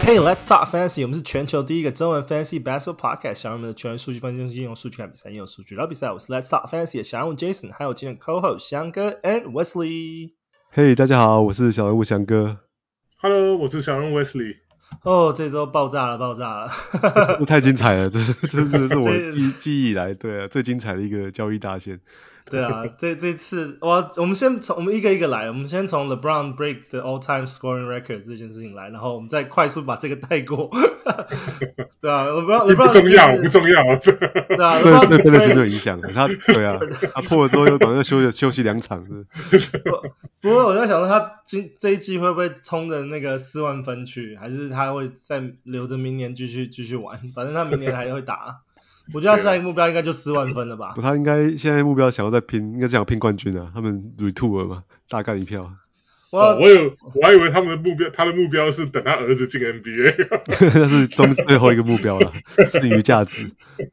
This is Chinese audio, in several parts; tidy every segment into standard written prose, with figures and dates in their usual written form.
Hey, let's talk fantasy. 我們是全球第一個中文 fantasy basketball podcast。想讓我們的全員數據分析中心用數據看比賽，用數據聊比賽。我是 Let's talk fantasy 的小人物 Jason， 還有今天 co-host 翔哥 and Wesley。 Hey， 大家好，我是小人物翔哥。 Hello， 我是小人物 Wesley。 哦，這周爆炸了！ 这太精彩了，这是我記憶以來對啊最精彩的一個交易大線。 對啊，這次我們一個一個來，我們先從 LeBron break the all-time scoring record 這件事情來，然後我們再快速把這個帶過。對啊 ，LeBron 不重要。 對啊， 對真的沒有影響。他破了之後又馬上休息2場。 不過我在想說他這一季會不會衝着那個4萬分去，還是他會再留着明年繼續玩？反正他明年還會打。我覺得他下一個目標應該就4萬分了吧。 他應該現在目標想要再拼，應該想要拼冠軍啊。他們 retool 了嘛，大幹一票。 我還以為他的目標是等他兒子進 NBA。 那是最後一個目標了，剩餘價值。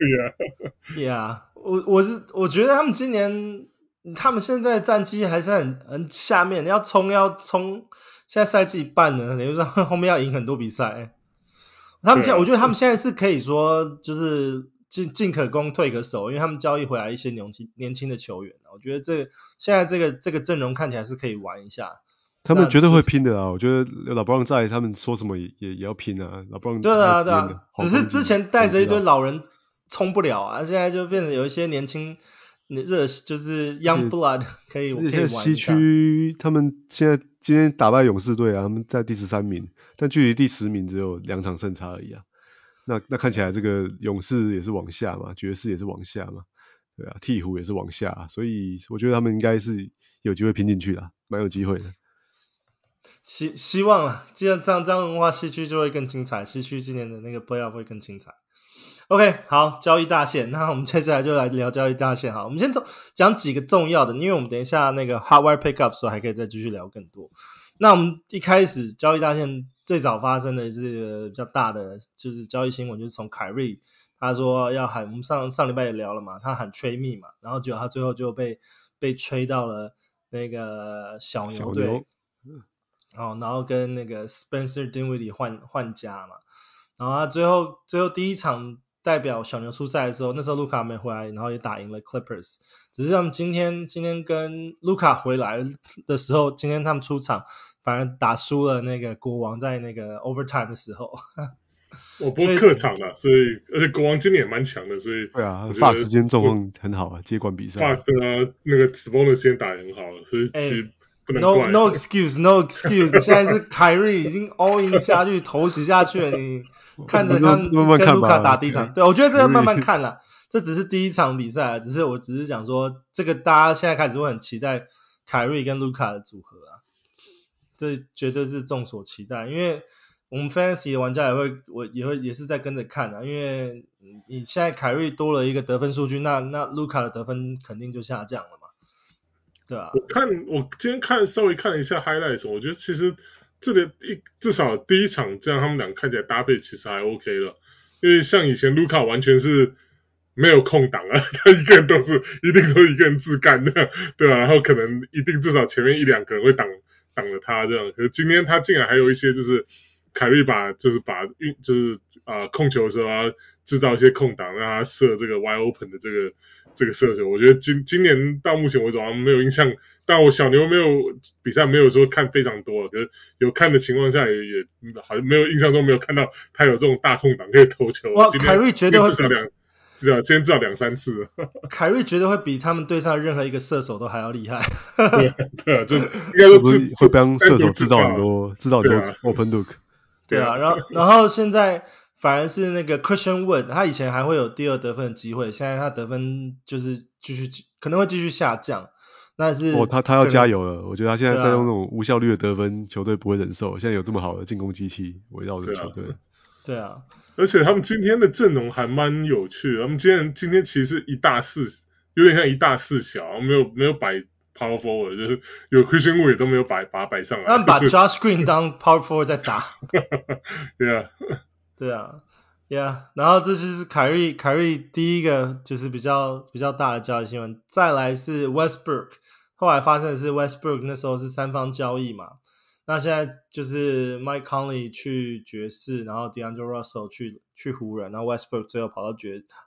Yeah， 我覺得他們今年他們現在戰績還是很下面，要衝，現在賽季一半了，等於說後面要贏很多比賽。我覺得他們現在是可以說就是進可攻退可守，因為他們交易回來一些年輕的球員，我覺得現在這個陣容看起來是可以玩一下。 他們絕對會拼的啊！我覺得老布朗在，他們說什麼也要拼啊！老布朗對啊，只是之前帶着一堆老人衝不了啊，現在就變成有一些年輕就是 young blood 可以玩一下。 西區他們現在今天打敗勇士隊啊，他們在第13名，但距離第10名只有2場勝差而已啊。那看起來這個勇士也是往下嘛，爵士也是往下嘛，對啊，鵜鶘也是往下，所以我覺得他們應該是有機會拼進去的，蠻有機會的。 希望啊，既然這樣的話，西區就會更精彩，西區今年的那個 playoff 會更精彩。OK， 好，交易大線，那我們接下來就來聊交易大線哈。我們先講幾個重要的，因為我們等一下那個 hot wire pickup 的時候還可以再繼續聊更多。那我們一開始交易大線最早發生的是比較大的，就是交易新聞，就是從凱瑞他說要喊，我們上禮拜也聊了嘛，他喊 trade me 嘛，然後結果他最後就被吹到了那個小牛隊。然後跟那個 Spencer Dinwiddie 換家嘛，然後他最後第一場代表小牛出賽的時候，那時候盧卡沒回來，然後也打贏了 Clippers， 只是他們今天跟盧卡回來的時候，今天他們出場反而打輸了那個國王，在那個 overtime 的時候。 不過客場啦，所以而且國王今年也蠻強的，所以對啊，法時間狀況很好啊，接管比賽。 法的啊，那個 Sabonis 時間打得很好了，所以其實 No excuse， 你現在是凱瑞已經 all in 下去，頭洗下去了，你看着他們跟盧卡打第一場，對，我覺得這個慢慢看啦，這只是第一場比賽，我只是講說，這個大家現在開始會很期待凱瑞跟盧卡的組合啊，這絕對是眾所期待，因為我們 fantasy 的玩家也是在跟着看啊，因為你現在凱瑞多了一個得分數據，那盧卡的得分肯定就下降了嘛。對啊， 我今天稍微看了一下 highlights， 我覺得其實至少第一場這樣他們倆看起來搭配其實還 OK 了，因為像以前盧卡完全是沒有空檔啊，他一定都是一個人自幹的，對啊，然後可能一定至少前面1-2個人會擋了他這樣，可是今天他竟然還有一些就是凱瑞把控球的時候啊製造一些空檔，讓他射這個 wide open 的這個射球，我覺得今年到目前為止好像沒有印象，但我小牛比賽沒有說看非常多，可是有看的情況下也好像没有印象中沒有看到他有這種大空檔可以投球。 哇，凱瑞絕對会今天至少2-3次。 凱瑞絕對會比他們隊上任何一個射手都還要厲害。 對啊，就應該說會幫射手製造很多 open look。 对啊，然後現在反而是那個 Christian Wood， 他以前還會有第2得分的機會，現在他得分就是可能會繼續下降。但是他要加油了，我覺得他現在在用那種無效率的得分，球隊不會忍受。現在有這麼好的進攻機器圍繞着球隊。 對啊， 而且他們今天的陣容還蠻有趣的，他們今天其實是1大4，有點像1大4小，沒有擺 power forward， 就是有 Christian Wood 也都沒有把他擺上來。 他們把 Josh Green 當 power forward 在打。對啊，然後這就是凱瑞第一個就是比較大的交易新聞，再來是 Westbrook， 後來發生的是 Westbrook 那時候是3方交易嘛， 那現在就是 Mike Conley 去爵士，然後 D'Angelo Russell 去湖人，然後 Westbrook 最後跑到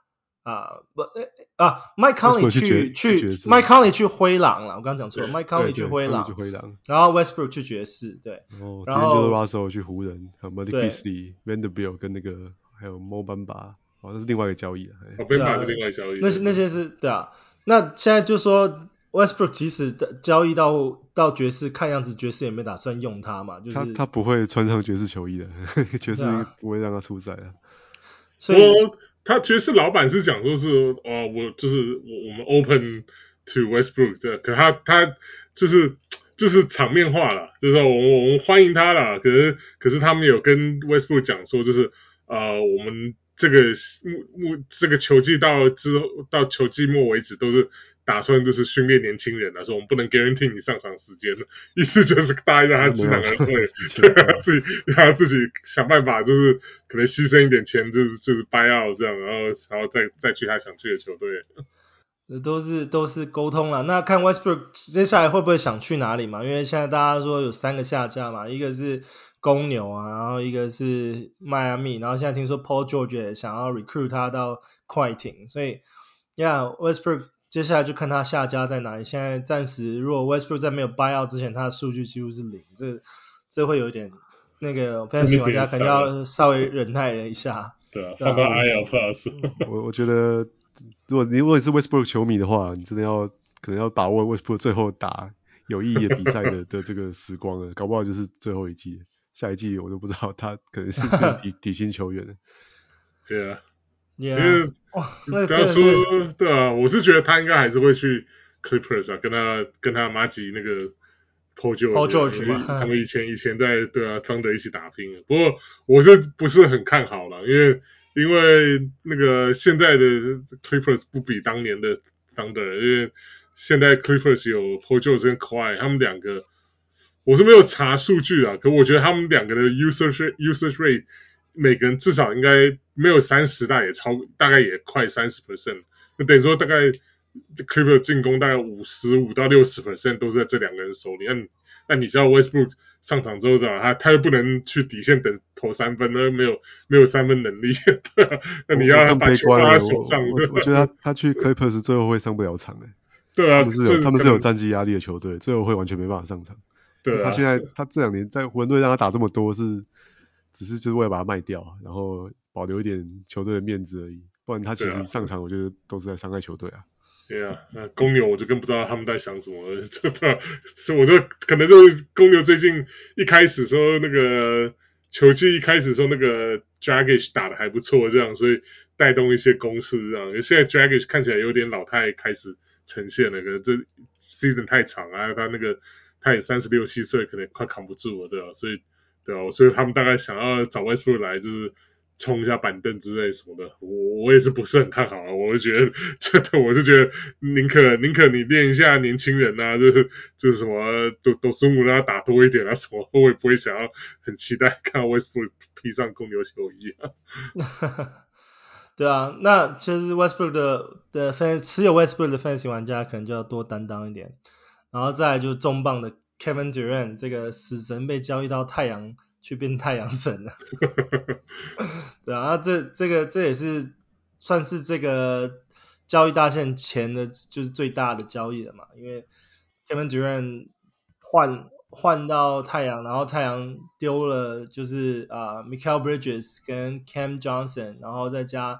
Mike Conley 去 Mike Conley 去灰狼了，我剛剛講錯了 ，Mike Conley 去灰狼，然後 Westbrook 去爵士，对，然後 D'Angelo Russell 去湖人，還有 Malik Beasley、Vanderbilt 跟那個還有 Mo Bamba， 那是另外一個交易了。 Bamba 是另外一個交易， 那些是对啊。那現在就說 Westbrook 即使交易到爵士，看樣子爵士也沒打算用他嘛，就是他不會穿上爵士球衣的，爵士不會讓他出赛啊。 所以他爵士老板是講說是我們 open to Westbrook 的，可他就是場面話啦，就是說我們歡迎他啦，可是他們有跟 Westbrook 講說，就是我們這個球季到球季末為止都是打算就是訓練年輕人啊，說我們不能 guarantee 你上場時間，意思就是答應讓他知难而退，讓他自己想辦法，就是可能犧牲一點錢，就是 buy out 這樣，然後再去他想去的球隊。 都是溝通啦。那看 Westbrook 接下來會不會想去哪裡嘛？因為現在大家說有3個下家嘛，一個是公牛啊，然後一個是邁阿密，然後現在聽說 Paul George 也想要 recruit 他到快艇，所以 Westbrook 接下來就看他下家在哪裡。現在暫時如果 Westbrook 在沒有 buy out 之前，他的數據幾乎是0，這會有點那個 fantasy 玩家可能要稍微忍耐了一下。 对啊，放到 IL Plus。 我覺得如果你是 Westbrook 球迷的話，你真的可能要把握 Westbrook 最後打有意義的比賽的這個時光了，搞不好就是最後一季，下一季我都不知道他可能是底薪球員了。 对啊， 因為不要說对啊，我是覺得他應該還是會去 Clippers 啊，跟他麻吉那個 Paul George 嘛，他們以前在對啊Thunder一起打拼。不過我是不是很看好了，因為那個現在的 Clippers 不比當年的 Thunder， 因為現在 Clippers 有 Paul George 跟 Kawhi， 他們兩個我是沒有查數據啊，可我覺得他們兩個的 usage rate 每個人至少應該沒有30，大概也快 30%， 那等於說大概 Clippers 進攻大概55到60% 都是在這兩個人手裡。那你知道 Westbrook 上場之後他又不能去底線等投3分，那沒有3分能力，对啊，那你要把球放在手上。 我覺得他去 Clippers 最後會上不了場對啊， 他們是有戰績壓力的球隊，最後會完全沒辦法上場。 對啊， 他這2年在湖人隊讓他打這麼多只是就是為了把他賣掉，然後保留一點球隊的面子而已，不然他其實上場我覺得都是在傷害球隊啊。 对啊，那公牛我就更不知道他們在想什麼了，所以我就可能就是公牛最近一開始說那個球季一開始說那個 Dragic 打得還不錯這樣，所以帶動一些攻勢這樣。現在 Dragic 看起來有點老態開始呈現了，可能這 season 太長啊，他也36、7歲，可能快扛不住了，對吧？所以他們大概想要找 Westbrook 來就是衝一下板凳之類什麼的，我也是不是很看好啊。我是覺得寧可你練一下年輕人啊，就是什麼都孙武讓他打多一點啊什麼，我也不會想要很期待看到 Westbrook 披上公牛球衣啊。 對啊，那其實 Westbrook 的持有 Westbrook 的 fantasy 玩家可能就要多擔當一點，然後再來就是重磅的 Kevin Durant 這個死神被交易到太陽去變太陽神了。對啊，這也是算是這個交易大限前的就是最大的交易了嘛，因為 Kevin Durant 換到太陽，然後太陽丟了就是Mikal Bridges 跟 Cam Johnson， 然後再加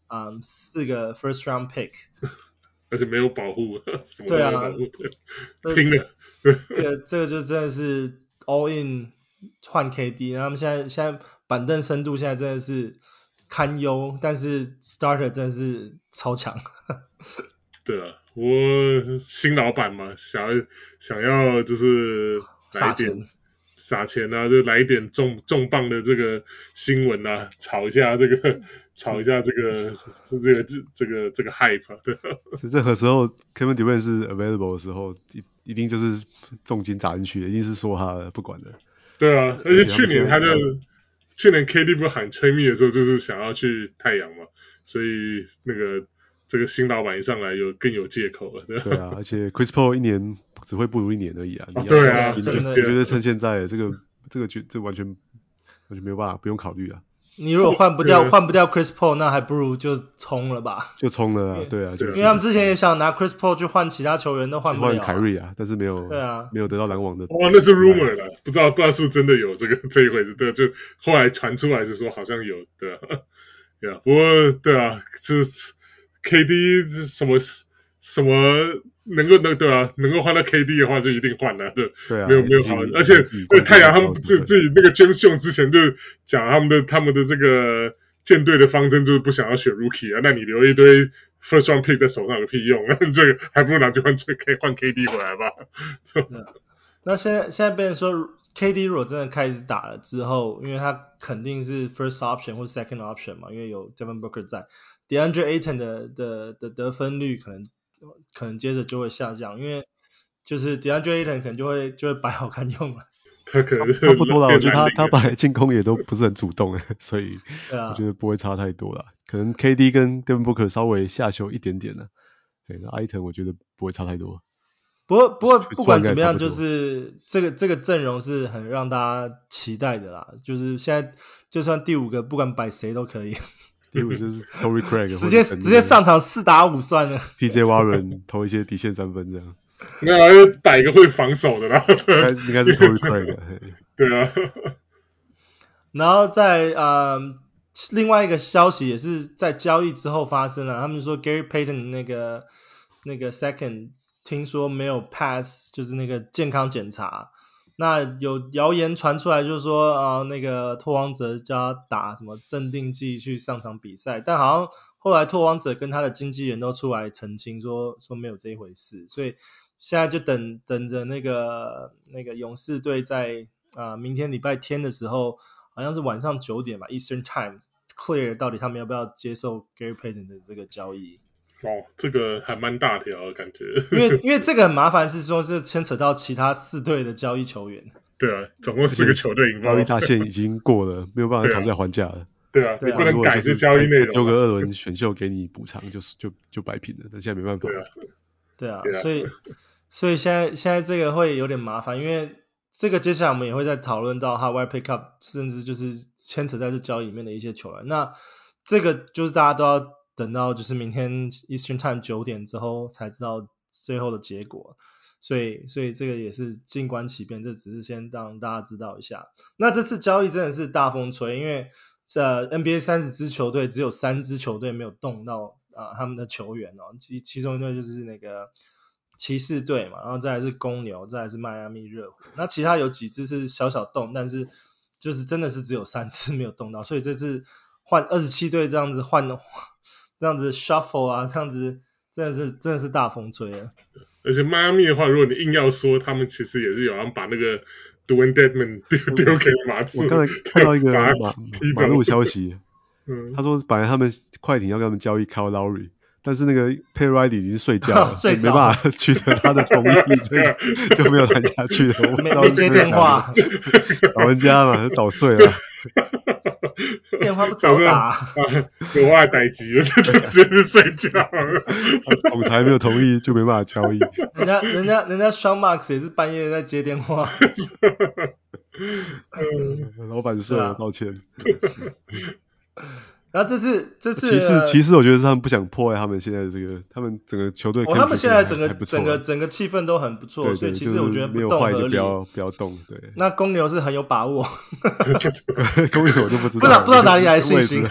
4個 first round pick， 而且沒有保護，什麼都沒有保護， 對啊， 拼了。 這個就真的是 all in 換 KD， 然後他們現在板凳深度現在真的是堪憂，但是 starter 真的是超強。 对啊，我新老闆嘛，想要就是來一點撒錢啊，就來一點重磅的這個新聞啊，炒一下這個 hype 啊，對。 任何時候 Kevin Durant 是 available 的時候，一定就是重金砸進去的，一定是說他的不管的。 對啊，而且去年KD 不喊吹密的時候，就是想要去太陽嘛，所以那個這個新老闆一上來更有借口了， 對啊，而且 Chris Paul 一年只會不如一年而已啊。 对啊， 我觉得趁现在这完全没有办法，不用考虑啊。 你如果换不掉 Chris Paul， 那还不如就冲了吧。 就冲了啊，对啊， 因为他们之前也想拿 Chris Paul 去換其他球員，都換不了、啊。 換凱瑞啊，但是沒有得到籃網的。 哦，那是 rumor 了，不知道是不是真的有這一回事。对，就後來傳出來是說好像有的。對啊，不過對啊，就是 KD 什麼能夠換到 KD 的話就一定換了，對啊，沒有好，而且太陽他們自己那個 James Jones 之前就講他們的這個艦隊的方針就是不想要選 Rookie 啊，那你留一堆 First Round Pick 在手上有屁用啊？這個還不如拿去換 KD 回來吧。 那現在變成說 KD 如果真的開始打了之後，因為他肯定是 First Option 或 Second Option 嘛，因為有 Devin Booker 在 ，DeAndre Ayton 的得分率可能接着就會下降，因為就是 DeAndre Ayton 可能就會擺好看用了。 他可能差不多啦，我覺得他本來進攻也都不是很主動，所以我覺得不會差太多啦。可能 KD 跟 Devin Booker 稍微下修一點點啦，對，那 Ayton 我覺得不會差太多。 不過不管怎麼樣，就是這個陣容是很讓大家期待的啦。就是現在就算第5個不管擺誰都可以。 第5就是 Torrey Craig 直接上場4打5算了。 TJ Warren 投一些底線3分這樣。 沒有，就擺一個會防守的啦。 應該是 Torrey Craig。 對啊。 然後在另外一個消息也是在交易之後發生了，他們說 Gary Payton 那個 second 聽說沒有 pass， 就是那個健康檢查。那有謠言傳出來，就是說那個拓荒者叫他打什麼鎮定劑去上場比賽，但好像後來拓荒者跟他的經紀人都出來澄清說沒有這一回事，所以現在就等着那個勇士隊在明天禮拜天的時候，好像是晚上9點吧 Eastern Time clear 到底他們要不要接受 Gary Payton 的這個交易。 哦，這個還蠻大條的感覺。 因為這個很麻煩，是說是牽扯到其他4隊的交易球員。 對啊，總共4個球隊引爆。 交易大限已經過了，沒有辦法討價還價了。 對啊，你不能改這交易內容。 丟個2輪選秀給你補償，就擺平了。但現在沒辦法。 對啊，所以現在這個會有點麻煩，因為這個接下來我們也會再討論到 Hardware Pickup， 甚至就是牽扯在這交易裡面的一些球員。那這個就是大家都要等到就是明天 Eastern Time 9點之後才知道最後的結果，所以這個也是靜觀其變，這只是先讓大家知道一下。那這次交易真的是大風吹，因為NBA 30支球隊只有3支球隊沒有動到他們的球員哦，其中一隊就是那個騎士隊嘛，然後再來是公牛，再來是邁阿密熱火，那其他有幾支是小動，但是就是真的是只有3支沒有動到，所以這次換27隊這樣子換這樣子 shuffle 啊，這樣子真的是大風吹了。 而且邁阿密的話，如果你硬要說，他們其實也是有人把那個 Dwayne Dedmon 丟給馬刺。 我剛才看到一個馬路消息，他說本來他們快艇要跟他們交易 Kyle Lowry， 但是那個 Pat Riley 已經睡覺了，沒辦法取得他的同意，所以就沒有談下去了。 沒接電話， 老人家嘛，早睡了。 電話不早打， 有話待機了，就直接睡覺了。 總裁沒有同意，就沒辦法交易。 人家 Sean Marks 也是半夜在接電話。 老闆睡了，抱歉。 然後這次其實我覺得是他們不想破壞他們現在的這個，他們整個球隊他們現在整個氣氛都很不錯，對，所以其實我覺得不動合理， 不要動。對， 那公牛是很有把握。 公牛我就不知道， 不知道哪裡來的信心。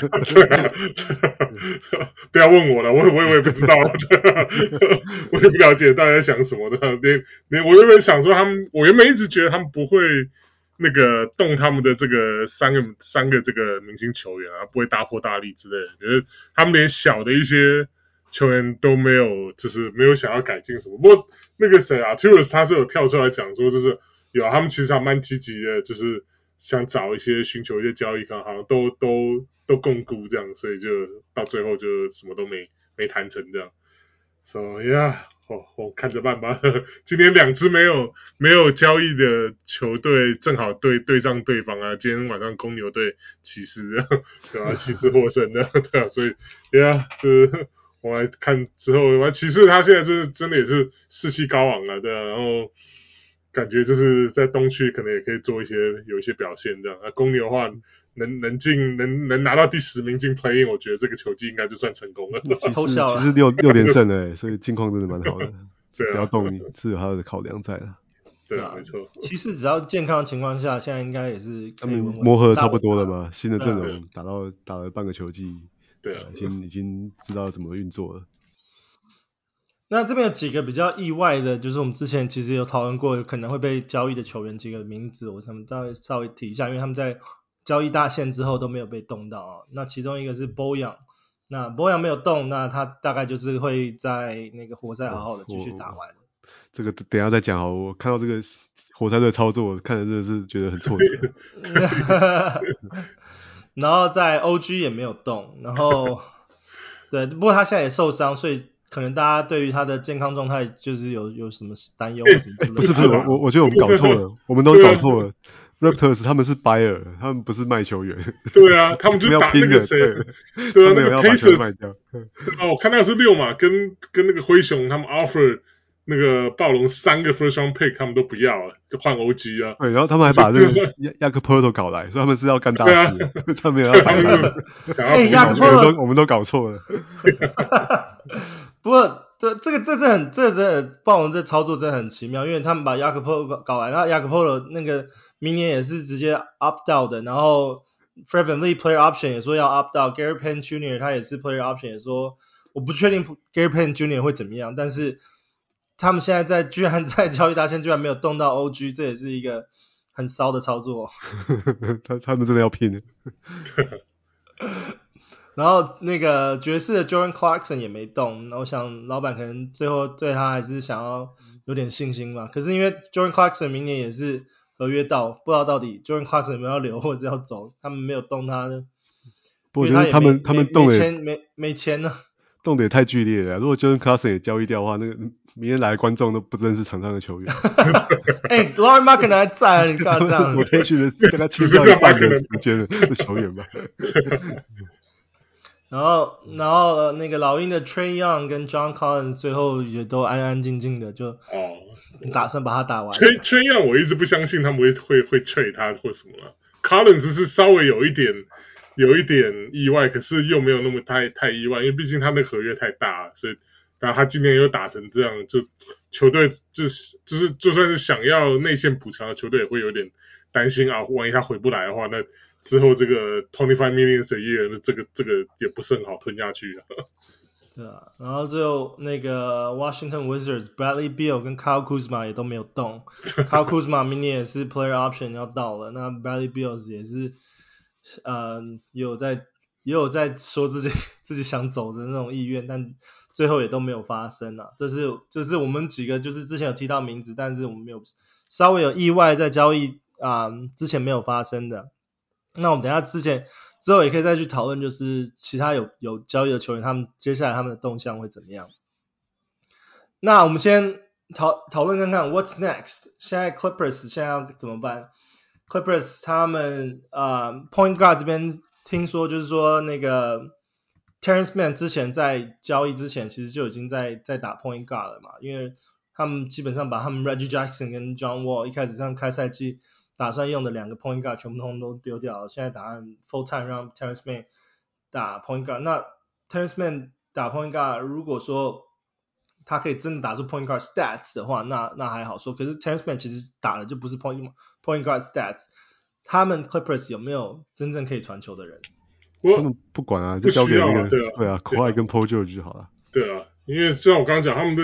不要問我了，我也不知道，我也不了解大家在想什麼的。我原本想說我原本一直覺得他們不會那個動他們的這個三個這個明星球員啊，不會大破大立之類的，覺得他們連小的一些球員都沒有，就是沒有想要改進什麼。不過那個誰啊 Arturas 他是有跳出來講說，就是有他們其實還蠻積極的，就是想找尋求一些交易，好像都共估這樣，所以就到最後就什麼都沒談成這樣。So yeah。我看着辦吧。今天2支沒有交易的球隊正好對上對方啊。今天晚上公牛對騎士，對吧？騎士獲勝的，對啊。所以，yeah， 我來看之後，騎士他现在就是真的也是士氣高昂了，对啊，然後感覺就是在東區可能也可以做有一些表現這樣。那公牛的話，能拿到第10名進 play-in， 我覺得這個球季應該就算成功了。 其實6連勝了，所以近況真的蠻好的。 對啊， 不要動是有他的考量在的。 對啊，沒錯。 骑士只要健康的情況下，現在應該也是可以穩穩磨合差不多了嘛，新的陣容打了半個球季， 对啊， 已經知道怎麼運作了。 那這邊有幾個比較意外的，就是我們之前其實有討論過，有可能會被交易的球員幾個名字，我想稍微提一下，因為他們在交易大限之後都沒有被動到啊。那其中一個是 Bojan， 那 Bojan 沒有動，那他大概就是會在那個活塞好好的繼續打完。 這個等一下再講好，我看到這個活塞隊操作，我看着真的是覺得很挫折。 然後在 OG 也沒有動，然後對，不過他現在也受傷，所以可能大家對於他的健康狀態就是有什麼擔憂或什麼之類的。 不是，我覺得我們搞錯了，我們都搞錯了。Raptors 他們是 buyer， 他們不是賣球員。 對啊，他们就打那個誰，對啊，那個 Pacers 賣掉。我看到是6馬跟那個灰熊他們 offer 那個暴龍3個 first round pick， 他們都不要了，就換 OG 啊。 對，然後他們還把這個Jakob搞來，所以他們是要幹大事，他們有要買他。我們都搞錯了。 不過这暴龙这操作真的很奇妙，因為他們把 Jakob 搞來，然後 Jakob 那個明年也是直接 opt out 的，然後 Fred VanVleet player option 也說要 opt out，Gary Payton Jr. 他也是 player option 也說我不確定 Gary Payton Jr. 會怎麼樣，但是他們現在居然在交易大限居然沒有動到 OG， 這也是一個很騷的操作。 他們真的要拼。 然後那個爵士的 Jordan Clarkson 也沒動，我想老闆可能最後對他還是想要有點信心嘛。可是因為 Jordan Clarkson 明年也是合約到，不知道到底 Jordan Clarkson 有沒有要留或者要走，他們沒有動他的。 我覺得他們動的沒錢呢。 動得也太劇烈了。如果 Jordan Clarkson 也交易掉的話，那個明天來的觀眾都不認識場上的球員。 Lauri Markkanen 還在，你看這樣。 我可以去的大概吃掉一半的時間的球員吧。 然後那個老鷹的 Trae Young 跟 John Collins 最後也都安安靜靜的就打算把他打完。 Trae Young 我一直不相信他們會 trade 他或什麼。Collins 是稍微有一點意外，可是又沒有那麼太意外，因為畢竟他那個合約太大，所以然後他今年又打成這樣，就球隊就是就算是想要內線補強的球隊也會有點擔心啊，萬一他回不來的話，那之後這個25 million a year 這個也不是很好吞下去啊。 對啊，然後最後那個 Washington Wizards Bradley Beal 跟 Kyle Kuzma 也都沒有動。Kyle Kuzma 明年也是 player option 要到了，那 Bradley Beal 也是也有在說自己想走的那種意願，但最後也都沒有發生啊。這是我們幾個就是之前有提到名字，但是我們沒有稍微有意外在交易之前沒有發生的。那我們等一下之後也可以再去討論，就是其他有交易的球員，他們接下來他們的動向會怎麼樣。那我們先討論看看 What's next？ 現在 Clippers 現在要怎麼辦？ Clippers 他們Point Guard 這邊聽說就是說那個 Terrence Mann 之前在交易之前其實就已經在打 Point Guard 了嘛，因為他們基本上把他們 Reggie Jackson 跟 John Wall 一開始上開賽季打算用的2個 Point Guard 全部都丟掉了，現在打算 Full Time 讓 Terrence Mann 打 Point Guard。那 Terrence Mann 打 Point Guard 如果說他可以真的打出 Point Guard Stats 的話，那還好說。可是 Terrence Mann 其實打的就不是 Point Guard Stats。他們 Clippers 有沒有真正可以傳球的人？ 他們不管啊，就交給那個對啊 Kawhi 跟 Paul George 就好了。 對啊，因為像我剛剛講，他們的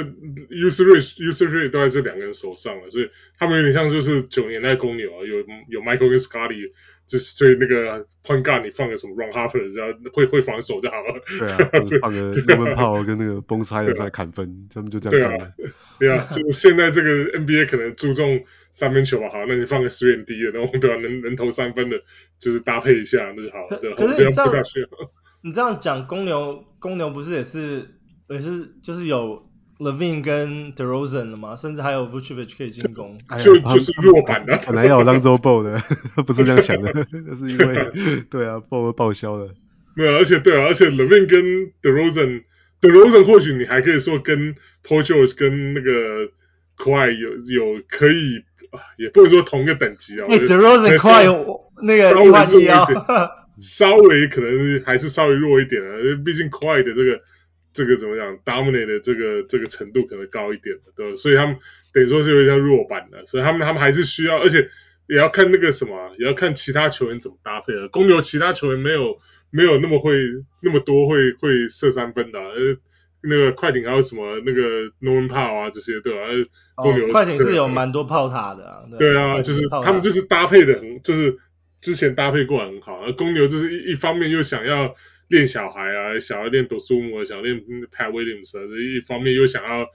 usage 都在這2個人手上了，所以他們有點像就是9年代公牛啊，有 Michael 跟 Scottie， 就是所以那個 Point Guard 你放個什麼 Ron Harper， 只要會防守就好了。 對啊，放個 Norman Powell 跟那個 Bones Hyland 在砍分，他們就這樣幹了。 對啊，就現在這個 NBA 可能注重3分球吧，好，那你放個3&D 的，然後對吧，能投3分的，就是搭配一下那就好了。對， 可是你這樣講，公牛不是也是就是有 Levine 跟 DeRozan 了嗎？甚至還有 Vucevic 可以進攻， 就是弱版的。 本來要有 Lonzo Ball 的，不是這樣想的，就是因為對啊 ，Ball 報銷了。 沒有，而且 Levine 跟 DeRozan 都 DeRozan 或許你還可以說跟 Paul George 跟那個 Kawhi 有可以也不能說同一個等級啊。 DeRozan Kawhi 有那個110 稍微可能還是稍微弱一點啊，畢竟 Kawhi 的這個怎麼講 dominate 的這個程度可能高一點，對吧？所以他們等於說是有點像弱版的，所以他們還是需要，而且也要看那個什麼，也要看其他球員怎麼搭配啊。公牛其他球员沒有那麼多會射三分的，那個快艇還有什麼那個 Norman Powell 啊這些，對吧？公牛快艇是有蠻多炮塔的啊， 對啊，就是他們就是搭配的很，就是之前搭配過很好，而公牛就是一方面又想要練小孩啊，想要練 Dosunmu， 想要練 Pat Williams 啊，一方面又想要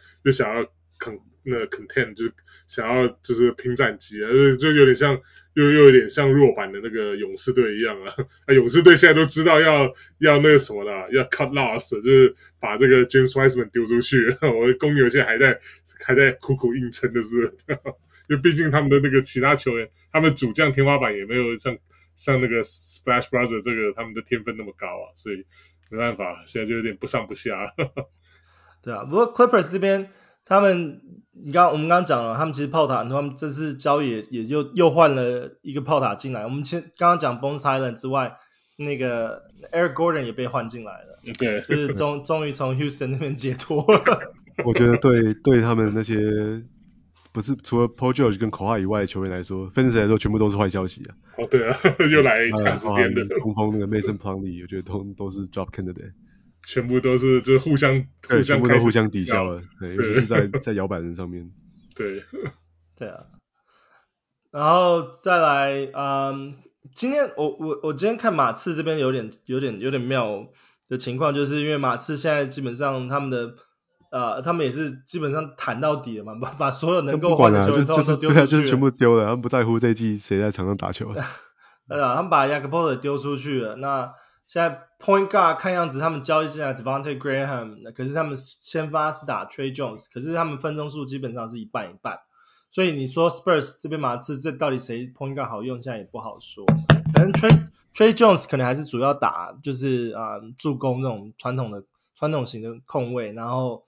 content， 就是想要就是拼戰績啊，就有點像又有點像弱版的那個勇士隊一樣啊。勇士隊現在都知道要那個什麼了，要 cut loss， 就是把這個 James Wiseman 丟出去。我的公牛現在還在苦苦硬撐的是，因為畢竟他們的那個其他球員，他們主將天花板也沒有像那個 Splash Brothers 這個他們的天分那麼高啊，所以沒辦法，現在就有點不上不下。 对啊，不過 Clippers 這邊他們，我們剛剛講了，他們其實炮塔，他們這次交易也又換了一個炮塔進來。我們剛剛講 Bones Hyland 之外，那個 Eric Gordon 也被換進來了， 對， 就是終於從 Houston 那邊解脫了。 我覺得對他們那些不是除了 Paul George 跟 Kawhi 以外的球員來說，分析來說全部都是壞消息啊。 哦，对啊，又來長時間的中锋那個 Mason Plumlee， 我覺得都是 drop candidate。 全部都是就是互相全部都互相抵消了，对，尤其是在摇摆人上面。 对啊，然後再來，今天我今天看马刺這邊有點妙的情況，就是因為馬刺現在基本上他們也是基本上談到底了嘛，把所有能夠換的球員都丟出去了， 就是全部丟了，他們不在乎這一季誰在場上打球。 他們把 Jakob Poeltl 丟出去了，那現在 Point Guard 看樣子他們交易進來 Devontae Graham， 可是他們先發是打 Trey Jones， 可是他們分鐘數基本上是一半一半，所以你說 Spurs 這邊馬刺這到底誰 Point Guard 好用，現在也不好說。可能 Trey Jones 可能還是主要打就是助攻這種傳統型的控衛，然後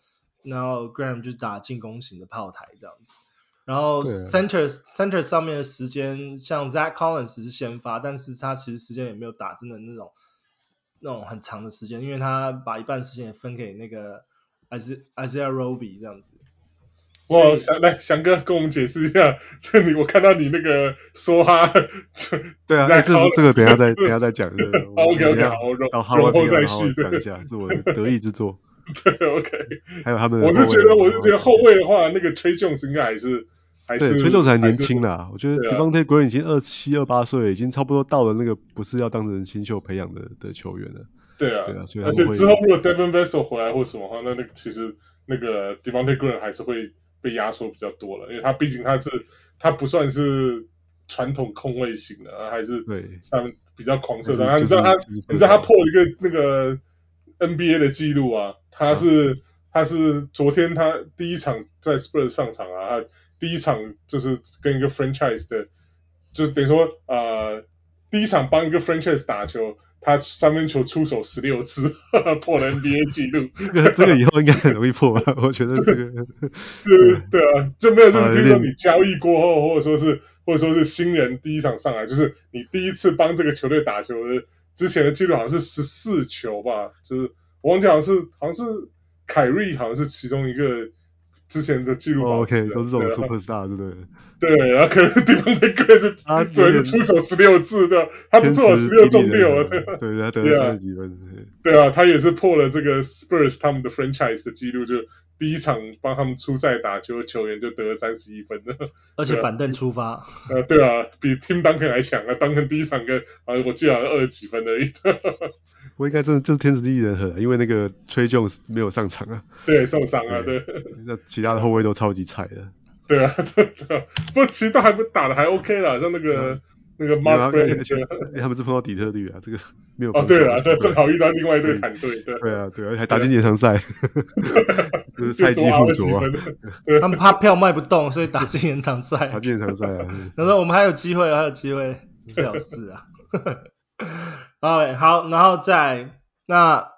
Graham 就是打進攻型的炮台這樣子。然後 center 上面的時間，像 Zach Collins 是先發，但是他其實時間也沒有打真的那種很長的時間，因為他把一半時間也分給那個 Isaiah Roby 這樣子。 哇，翔哥跟我們解釋一下，我看到你那個說哈， 對啊，這個等一下再講。 OK， 好，容後再續， 講一下，是我的得意之作。 對 ，OK。 還有他們的， 我是覺得後衛的話，那個 Trey Jones 應該還是對 Trey Jones 還年輕啦，我覺得 Devontae Graham 已經27、28歲，已經差不多到了那個不是要當成新秀培養的球員了。對啊，所以而且之後如果 Devin Vassell 回來或什麼話，那個其實那個 Devontae Graham 還是會被壓縮比較多了，因為他畢竟他不算是傳統控衛型的，還是上面比較狂射的。你知道他破了一個那個 NBA 的記錄啊，他是昨天他第一場在 Spurs 上場啊，他第一場就是跟一個 franchise 的，就是等於說第一場幫一個 franchise 打球，他三分球出手16次，破了 NBA 記錄。 這個以後應該很容易破吧？我覺得這個對啊，就沒有就是比如說你交易過後，或者說是新人第一場上來，就是你第一次幫這個球隊打球的之前的記錄好像是14球吧，就是我忘記好像是凱瑞好像是其中一個之前的記錄保持的。 OK， 都是這種 superstar， 对不对？ 对，然后可能Devontae Graham主要是出手16次的，他不错，16中6， 对，他得了30幾分。 对啊，他也是破了這個 Spurs 他們的 franchise 的記錄，就第一場幫他們出賽打球的球員就得了31分的， 而且板凳出發。 對啊，比 Tim Duncan 還強啊，Duncan 第一場我記得好像20幾分而已。 我應該真的就是天時地利人和，因為那個 Trey Jones 沒有上場啊， 對，受傷啊，對， 那其他的後衛都超級菜的。 對啊，不過其實都還不打的還 OK 啦，像那個 Mark Brand， 他們是碰到底特律啊，這個沒有。 對啊，正好遇到另外一隊團隊，對啊， 還打進延長賽，就是菜雞互啄啊。 他們怕票賣不動，所以打進延長賽。 打進延長赛啊！ 他說我們還有機會，最好是啊。好，然後再那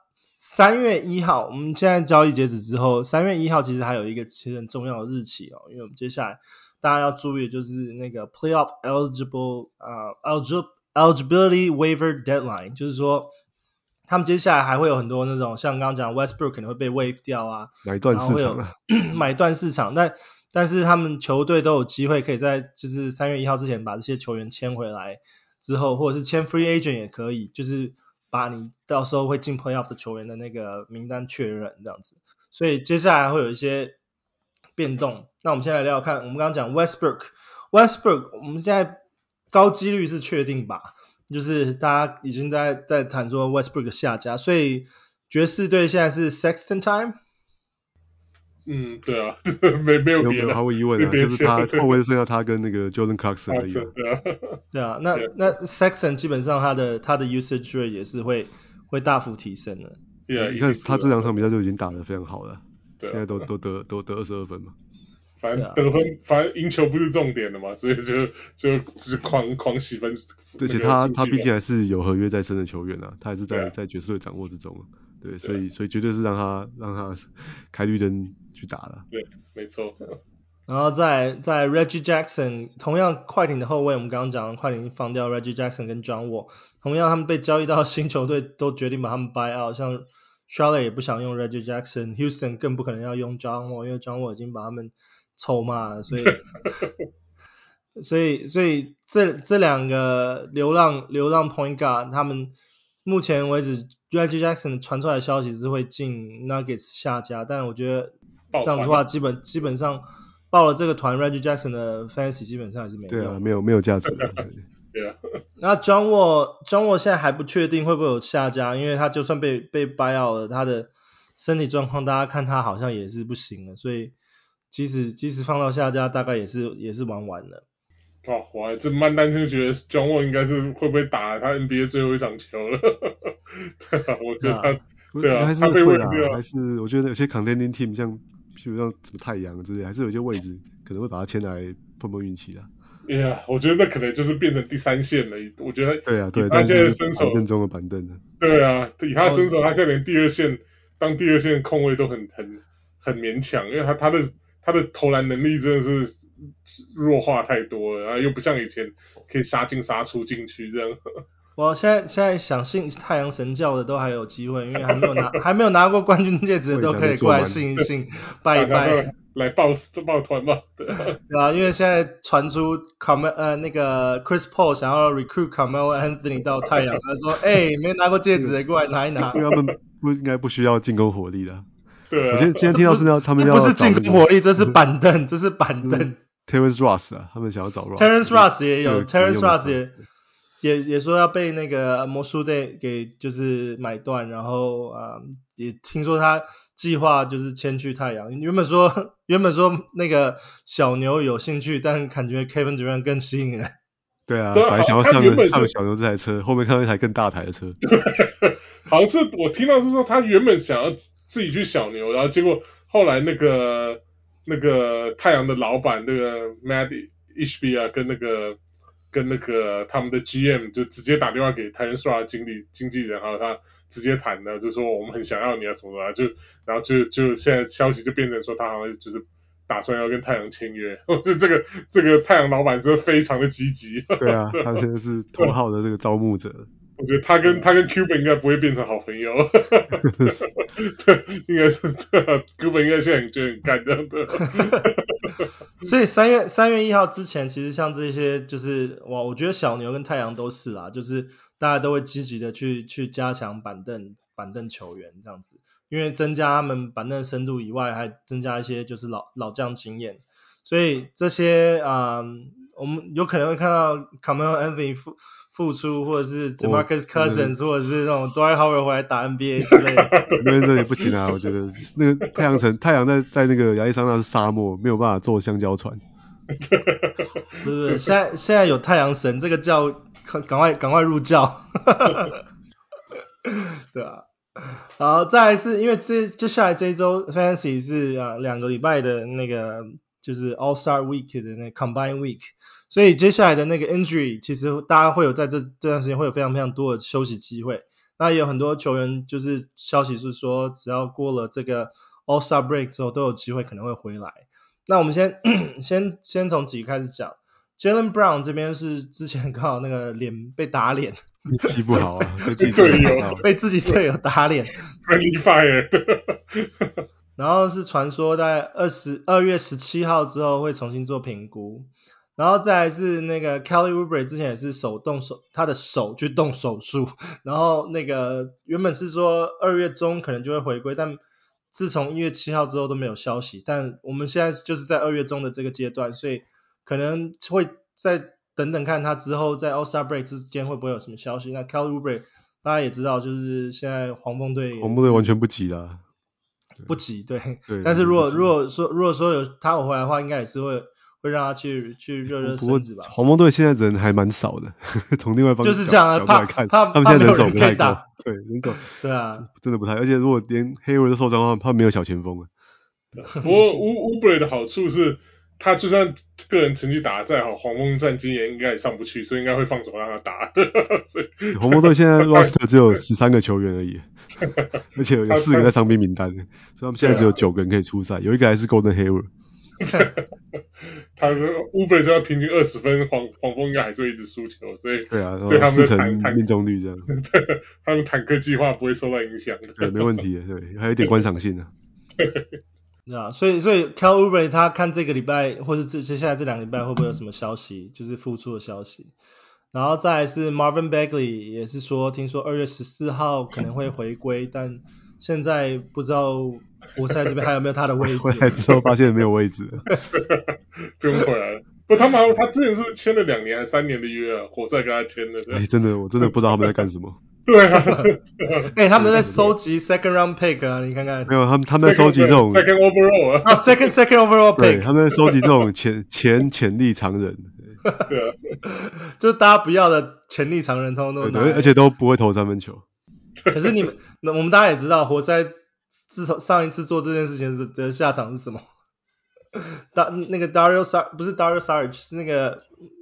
3月1號，我們現在交易截止之後，3月1號其實還有一個其實很重要的日期哦，因為我們接下來大家要注意的就是那個 playoff eligibility waiver deadline， 就是說他們接下来還會有很多那種像剛剛講 Westbrook 可能會被 waive 掉啊， 買斷市場啊， 買斷市場，但是他們球隊都有機會可以在就是3月1號之前把這些球員簽回來之後，或者是簽 free agent 也可以，就是把你到時候會進 playoff 的球員的那個名單確認這樣子，所以接下來會有一些變動。那我們先來聊聊看，我們剛剛講 Westbrook 我們現在高幾率是確定吧，就是大家已經在談說 Westbrook 下家，所以爵士隊現在是 Sexton time。 对啊，沒有別的， 毫無疑問啊，就是他後衛剩下他跟那個 Jordan Clarkson 而已啊。 對啊，那 Sexton 基本上他的 usage rate 也是会大幅提升的。 你看他這2場比賽就已經打得非常好了，現在都得22分嘛。 反正得分，反正贏球不是重點的嘛，所以就狂洗分。 而且他畢竟還是有合約在身的球員啊，他還是在爵士隊掌握之中。對，所以絕对是讓他開綠燈去打了。 对，沒錯。 然後在 Reggie Jackson， 同樣快艇的後衛，我們剛剛講快艇放掉 Reggie Jackson 跟 John Wall， 同樣他們被交易到新球隊都決定把他們 buy out， 像 Charlotte 也不想用 Reggie Jackson， Houston 更不可能要用 John Wall， 因為 John Wall 已經把他們臭罵了，所以這兩個流浪 point guard， 他們目前為止 Reggie Jackson 傳出來的消息是會進 Nuggets 下家，但我覺得這樣子的話基本上報了這個團 Reggie Jackson 的 fantasy 基本上還是沒用。 對啊，沒有價值的。 對啊。 那 John Wall 現在還不確定會不會有下家，因為他就算被 buy out 了，他的身體狀況大家看他好像也是不行了，所以即使放到下家大概也是玩完了。 我這蠻擔心，覺得 John Wall 應該是會不會打他 NBA 最後一場球了。對啊，我覺得他對啊， 還是他被會啊， 還是我覺得有些 contending team 像譬如像什麼太陽之類，還是有些位置可能會把他簽來碰運氣啊。 對啊，我覺得那可能就是變成第三線了。我覺得對啊，對， 他現在身手板凳中的板凳了。 對啊，以他身手，他現在連當第二線控衛都很勉強，因为他的投籃能力真的是弱化太多了，然後又不像以前可以殺進殺出禁區這樣。 我現在想信太陽神教的都還有機會，因為還沒有拿過冠軍戒指的都可以過來信一信拜一拜， 來抱團嘛。對啊，因為現在傳出那個 Chris Paul 想要 recruit Carmelo Anthony 到太陽，他說沒拿過戒指的過來拿一拿。 因為他們應該不需要進攻火力的。 對啊， 我今天聽到是他們要不是進攻火力，這是板凳，这是板凳。 Terrence Ross 啊，他們想要找 Terrence Ross 也有 ，Terrence Ross 也說要被那個魔術隊給就是買斷，然後也聽說他計劃就是遷去太陽。原本說那個小牛有興趣，但感覺 Kevin Durant 更吸引人。 對啊，本來想要上小牛這台車，後面看到一台更大台的車。 好像是我聽到是說他原本想要自己去小牛，然後結果後來那個太陽的老闆那個 Matt Ishbia 啊，跟那個他們的 GM 就直接打電話給 Terrence Ross 經紀人，還有他直接談的，就說我們很想要你啊什麼的，然後就現在消息就變成說他好像就是打算要跟太陽簽約，這個太陽老闆是非常的積極。 對啊，他現在是頭號的這個招募者。 我覺得他跟 Cuban 應該不會變成好朋友。應該是Cuban 應該現在就很幹這樣的。 所以3月1號之前，其實像這些就是我覺得小牛跟太陽都是啦，就是大家都會積極的去加強板凳球員這樣子，因為增加他們板凳深度以外，還增加一些就是老將經驗，所以這些我們有可能會看到 Carmelo Anthony復出，或者是 DeMarcus Cousins，或者是那種 Dwight Howard 回來打 NBA 之類的。 那這也不行啊，我覺得那個太陽在那個亞利桑那是沙漠，沒有辦法坐香蕉船。 不是，現在有太陽神，這個叫趕快入教。對啊，然後再來是因為接下來這一周 Fantasy 是2個禮拜的那個就是 All Star Week 的那個 Combine Week。所以接下來的那個 injury， 其實大家會有在這段時間會有非常非常多的休息機會。 那也有很多球員就是消息是說，只要過了這個 All-Star Break 之後，都有機會可能會回來。那我們先從幾個開始講。Jaylen Brown 這邊是之前剛好那個臉被打臉， 踢不好啊，被自己隊友打到， 被自己隊友打臉 ，friendly fire 然後是傳說在2月17號之後會重新做評估，然後再來是那個 Kelly Oubre 之前也是他的手去動手術，然後那個原本是說2月中可能就會回歸，但自從1月7號之後都沒有消息，但我們現在就是在2月中的這個階段，所以可能會再等等看他之後在 All-Star Break 之間會不會有什麼消息。那 Kelly Oubre 大家也知道，就是現在黃蜂隊完全不急啦， 不急，對。 但是如果說有他回來的話，應該也是會讓他去熱身子吧。 黄蜂隊現在人還蠻少的，從另外一方就是這樣啊， 怕他們現在人手不太夠，對，人手对啊， 真的不太，而且如果連Hayward都受傷的話，他没有小前鋒啊。 不過Oubre 的好處是，他就算個人成績打得再好，黄蜂戰今年應該也上不去，所以應該會放手讓他打。所以黃蜂隊現在 roster 只有13個球員而已，而且有4個在傷兵名單，所以他們現在只有9個人可以出賽，有一個還是 Gordon Hayward。 他說 Oubre 就要平均20分，黃蜂應該還是會一直輸球，所以對啊， 對他們的命中率這樣， 他們坦克計劃不會受到影響的。 對，沒問題的，對，還有一點觀賞性的。 對啊，所以 Kelly Oubre 他看這個禮拜或是接下來這2個禮拜會不會有什麼消息，就是復出的消息。然後再來是 Marvin Bagley 也是說，聽說2月14號可能會回歸，但現在不知道活塞這邊還有沒有他的位置。 回來之後發現沒有位置了。 不用回來了。不，他之前是不是簽了2年還3年的約啊？活塞跟他簽的。 真的，我真的不知道他們在幹什麼。 對啊， 他們在收集 second round pick 啊，你看看。 沒有，他們在收集這種 second overall 啊。 second overall pick。 對，他們在收集這種潛力長人。 對啊， 就是大家不要的潛力長人通通都拿。 對，而且都不會投3分球。 可是我們大家也知道，活塞自從上一次做這件事情的下場是什麼？那個 Dario Saric 不是 Dario Saric 是那個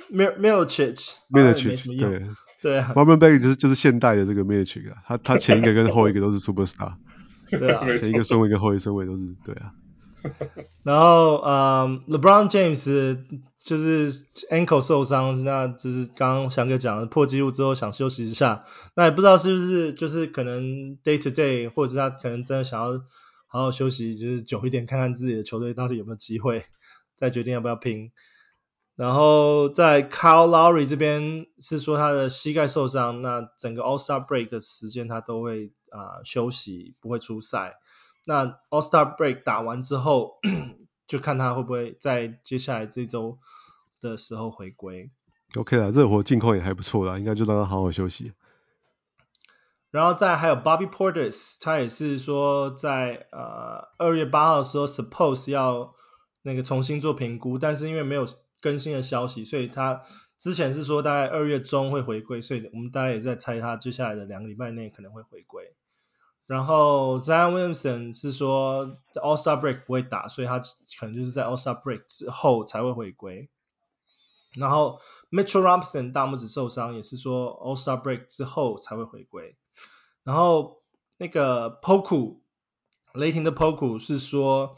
Milicic 沒什麼用。對啊 ，Marvin Bagley 就是現代的這個 Milicic 啊，他前一個跟後一個都是 Superstar， 對啊， 前一個順位跟後一個順位都是對啊。 然後LeBron James 就是 ankle 受傷，那就是剛剛翔哥講的破紀錄之後想休息一下，那也不知道是不是就是可能 day to day， 或者是他可能真的想要好好休息，就是久一點，看看自己的球隊到底有沒有機會，再決定要不要拼。然後在 Kyle Lowry 這邊是說他的膝蓋受傷，那整個 All-Star Break 的時間他都會休息，不會出賽。那 All-Star Break 打完之後，就看他會不會在接下來這周的時候回歸。 OK 啦，熱火近況也還不錯啦，應該就讓他好好休息。 然後再還有 Bobby Portis， 他也是說在2月8號的時候 suppose 要那個重新做評估，但是因為沒有更新的消息，所以他之前是說大概2月中會回歸，所以我們大家也在猜他接下來的2個禮拜內可能會回歸。然後 Zion Williamson 是說 All-Star Break 不會打，所以他可能就是在 All-Star Break 之後才會回歸。然後 Mitchell Robinson 大拇指受傷，也是說 All-Star Break 之後才會回歸。然後那個 Poku 雷霆的 Poku 是說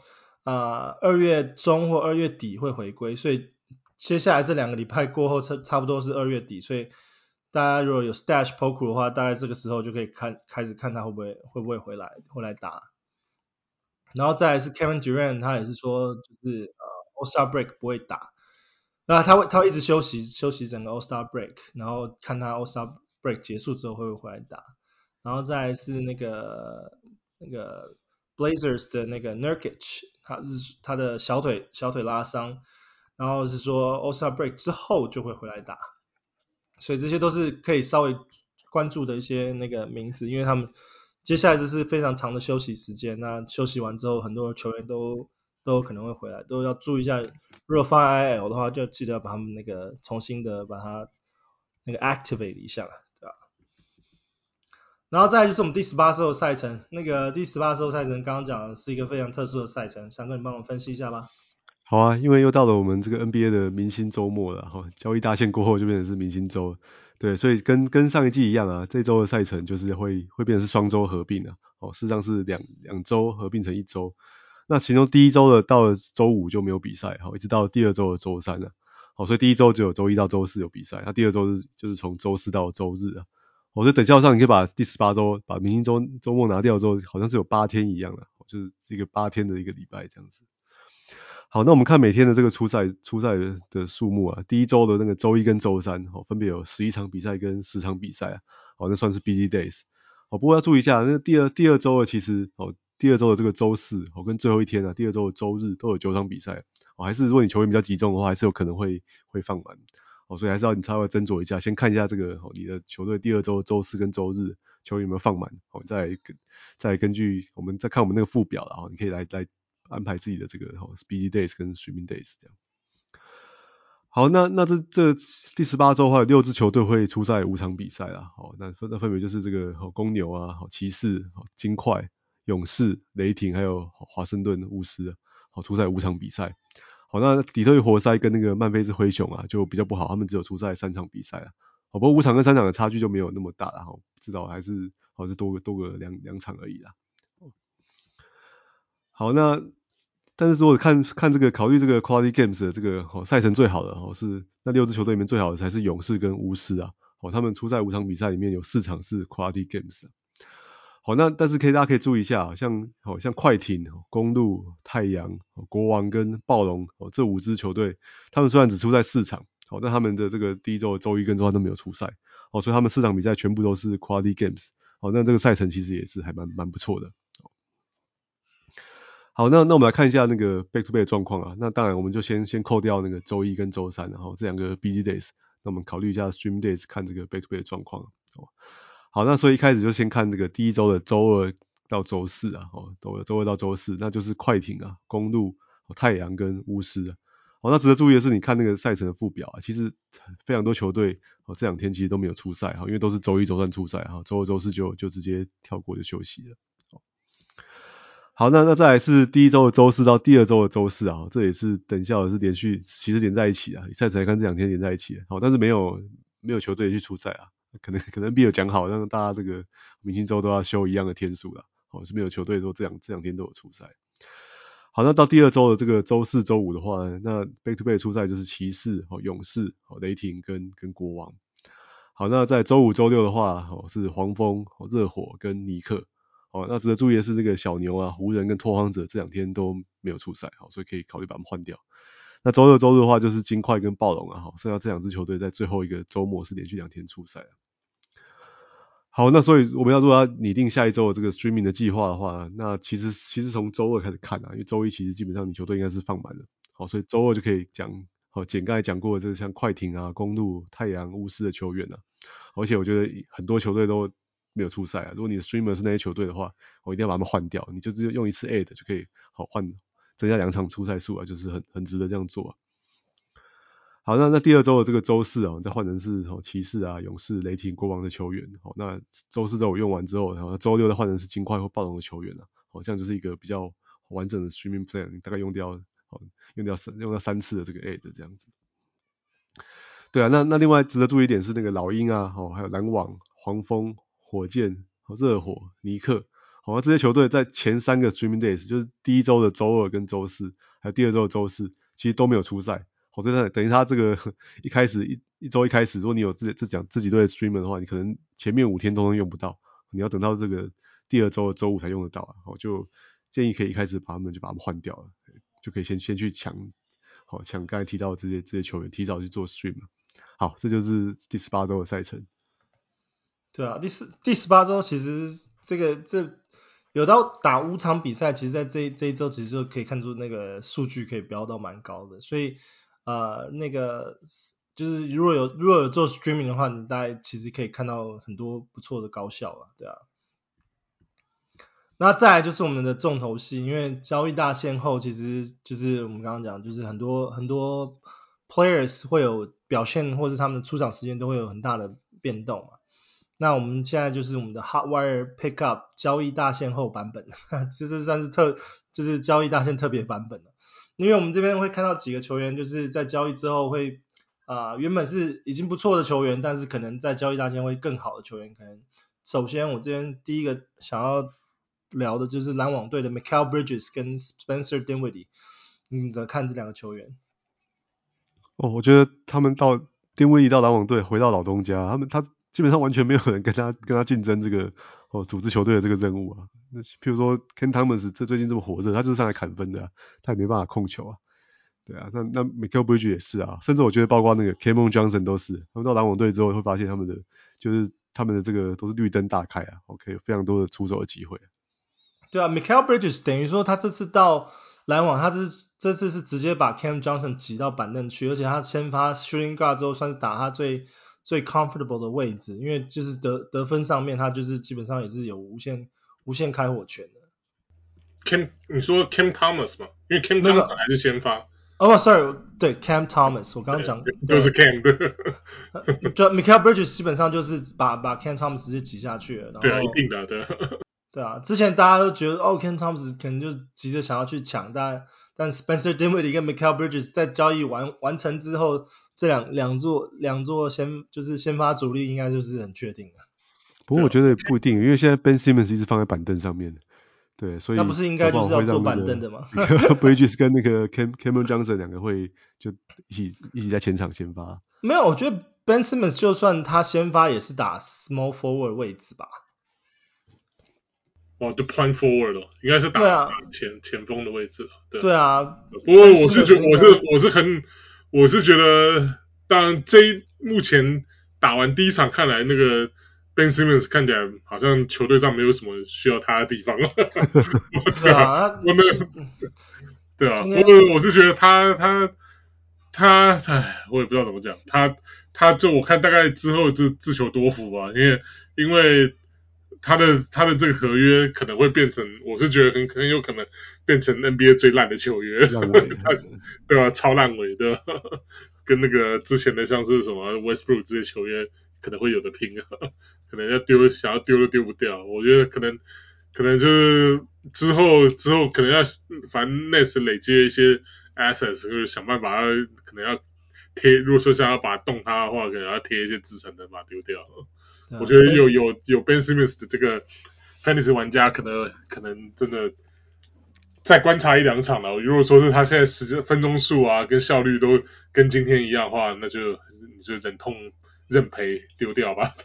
2月中或2月底會回歸，所以接下來這2個禮拜過後差不多是2月底，所以大家如果有 stash Poku 的話，大概這個時候就可以開始看他會不會回來打。然後再來是 Kevin Durant， 他也是說就是All-Star Break 不會打，那他會一直休息整個 All-Star Break， 然後看他 All-Star Break 結束之後會不會回來打。然後再來是那個 Blazers 的那個 Nurkic， 他的小腿拉傷，然後是說 All-Star Break 之後就會回來打。所以這些都是可以稍微關注的一些那個名字，因為他們接下來這是非常長的休息時間，那休息完之後很多球員都有可能會回来，都要注意一下，如果放 IL 的話就記得要把他們那個重新的把它那個 activate 一下，對吧？然後再來就是我們第18周的賽程，那個第18周賽程剛剛講的是一個非常特殊的賽程，翔哥你幫我分析一下吧。 好啊，因為又到了我們這個 NBA 的明星週末了哈，交易大限過後就變成是明星週，對，所以跟上一季一樣啊，這週的賽程就是會變成是雙週合併啊，事實上是兩週合併成一週，那其中第一週的到了週五就沒有比賽，一直到第二週的週三了，所以第一週只有週一到週四有比賽，那第二週就是從週四到週日啊，所以等效上你可以把第18週把明星週末拿掉之後，好像是有8天一樣的，就是一個8天的一個禮拜這樣子。好，那我們看每天的這個出賽的數目啊，第一週的那個週一跟週三，分別有11場比賽跟10場比賽啊，那算是 busy days。不過要注意一下，那第二週的其實第二週的這個週四跟最後一天啊，第二週的週日都有9場比賽，還是如果你球員比較集中的話，還是有可能會放滿，所以還是要你稍微斟酌一下，先看一下這個你的球隊第二週週四跟週日球員有沒有放滿，再根據我們再看我們那個附表啦，你可以來安排自己的這個busy days 跟 streaming days 這樣。好，那這第18週的話，有6支球隊會出賽5場比賽啦。那分別就是這個公牛啊、騎士、金塊、勇士、雷霆還有華盛頓巫師啊，出賽5場比賽。好，那底特律活塞跟那個曼菲斯灰熊啊就比較不好，他們只有出賽3場比賽啊。不過5場跟3場的差距就沒有那麼大啦，至少還是多個2場而已啦。好，但是如果看這個考慮這個 quality games 的這個賽程最好的是那6支球隊裡面最好的才是勇士跟巫師啊，他們出賽5場比賽裡面有4場是 quality games 啊。好，那但是大家可以注意一下，像快艇、公鹿、太陽、國王跟暴龍這5支球隊，他們雖然只出賽4場，但他們的這個第一週的週一跟週三都沒有出賽，所以他們4場比賽全部都是 quality games。那這個賽程其實也是還蠻不錯的。好，那我們來看一下那個 back to back 的狀況啊。那當然我們就先扣掉那個週一跟週三，然後這2個 busy days。那我們考慮一下 stream days 看這個 back to back 的狀況。好，那所以一開始就先看這個第一週的週二到週四啊。週二到週四，那就是快艇啊、公鹿、太陽跟巫師啊。那值得注意的是，你看那個賽程的附表啊，其實非常多球隊這2天其實都沒有出賽，因為都是週一週三出賽，週二週四就直接跳過就休息了。好，那再來是第一週的週四到第二週的週四啊，這也是等效的是連續其實連在一起啊，賽程來看這2天連在一起，但是沒有球隊去出賽啊，可能 NBA 有講好讓大家這個明星週都要休一樣的天數啦，是沒有球隊說這兩天都有出賽。好，那到第二週的這個週四週五的話呢，那 back to back 出賽就是騎士、勇士、雷霆跟國王。好，那在週五週六的話是黃蜂、熱火跟尼克。那值得注意的是，這個小牛啊、湖人跟拓荒者這2天都沒有出賽，所以可以考慮把他們換掉。那週六週日的話，就是金塊跟暴龍啊，剩下這2支球隊在最後一個週末是連續2天出賽。好，那所以我們如果要擬定下一週的這個 streaming 的計劃的話，那其實從週二開始看啊，因為週一其實基本上你球隊應該是放滿了，所以週二就可以講簡剛才講過的這個像快艇啊、公鹿、太陽、巫師的球員啊，而且我覺得很多球隊都沒有出賽啊，如果你的 streamer 是那些球隊的話，我一定要把他們換掉，你就只用一次 add 就可以增加2場出賽數啊，就是很值得這樣做啊。好，那第二週的這個週四啊，再換成是騎士啊、勇士、雷霆、國王的球員。那週四週五用完之後，然後週六再換成是金塊或暴龍的球員啊。這樣就是一個比較完整的 streaming plan， 你大概用掉3次的這個 add 這樣子。對啊，那另外值得注意一點是那個老鷹啊，還有籃網、黃蜂、火箭、熱火、尼克，那這些球隊在前3個 streaming days， 就是第一週的週二跟週四，還有第二週的週四，其實都沒有出賽。所以等於他這個一開始一週一開始，如果你有自己隊的 streamer 的話，你可能前面5天都用不到，你要等到這個第二週的週五才用得到啊。就建議可以一開始把他們換掉了，就可以先去搶剛才提到的這些球員，提早去做 stream。好，這就是第18週的賽程。 對啊，第18週其實這有到打5場比賽，其實在這一週其實就可以看出那個數據可以飆到蠻高的，所以那個就是如果有做 streaming 的話，你大概其實可以看到很多不錯的高效了，對啊。那再來就是我們的重頭戲，因為交易大限後，其實就是我們剛剛講，就是很多 players 會有表現，或是他們的出場時間都會有很大的變動嘛。那我們現在就是我們的 Hotwire Pickup 交易大限後版本，這算是就是交易大限特別版本了。 因為我們這邊會看到幾個球員就是在交易之後會原本是已經不錯的球員，但是可能在交易大限会更好的球員。可能首先我這邊第一個想要聊的就是籃網隊的 Mikal Bridges 跟 Spencer Dinwiddie， 你怎麼看這兩個球員？ 我覺得他們到Dinwiddie到籃網隊回到老東家，他基本上完全沒有人跟他競爭這個組織球隊的這個任務啊。那譬如說 Ken Thomas 最近這麼火熱，他就是上來砍分的啊，他也沒辦法控球啊。對啊，那 Mikal Bridges 也是啊，甚至我覺得包括那個 Cameron Johnson 都是，他們到籃網隊之後會發現他們的這個都是綠燈大開啊 ，OK， 非常多的出手的機會。 對啊 ，Mikal Bridges 等於說他這次到籃網，他這次是直接把 Cam Johnson 擠到板凳去，而且他先發 shooting guard 之後算是打他最 comfortable 的位置，因為就是得分上面他就是基本上也是有無限開火權的。 你說 Cam Thomas 嘛？因為 Cam Johnson 還是先發。 sorry， 對 Cam Thomas， 我剛剛講都是 Cam 的。 就 Mikal Bridges 基本上就是把 Cam Thomas 直接擠下去了，然后对啊，一定的，对。 对啊，之前大家都觉得Cam Thomas 可能就急着想要去搶，但 Spencer Dinwiddie 跟 Mikal Bridges 在交易完成之後，這兩座先發主力應該就是很確定的。 不過我覺得也不一定，因為現在 Ben Simmons 一直放在板凳上面，對，所以那不是應該就是要坐板凳的嗎 ？Bridges 跟那個 Cameron Johnson 兩個會就一起在前場先發。 沒有，我覺得 Ben Simmons 就算他先發也是打 small forward 位置吧。 就 point forward 了，應該是打前鋒的位置了。 對啊。 不過我是覺得我是覺得，當然目前打完第一場看來，那個 Ben Simmons 看起來好像球隊上沒有什麼需要他的地方了。 對啊， 對啊，不過我是覺得他我也不知道怎麼講，他就我看大概之後就自求多福吧，因為他的這個合約可能會變成，我是覺得很有可能變成 NBA 最爛的球員，對吧？超爛尾的，跟那個之前的像是什麼 Westbrook 這些球員可能會有的拼，可能想要丟都丟不掉。我覺得可能就是之後可能要反正 Nets 累積一些 assets， 就是想辦法可能要貼，如果說想要把它動它的話，可能要貼一些資產的把它丟掉。我覺得有 Ben Simmons 的這個 Fantasy 玩家可能真的再觀察一兩場了。如果說是他現在分鐘數啊跟效率都跟今天一樣的話，那你就忍痛認賠丟掉吧。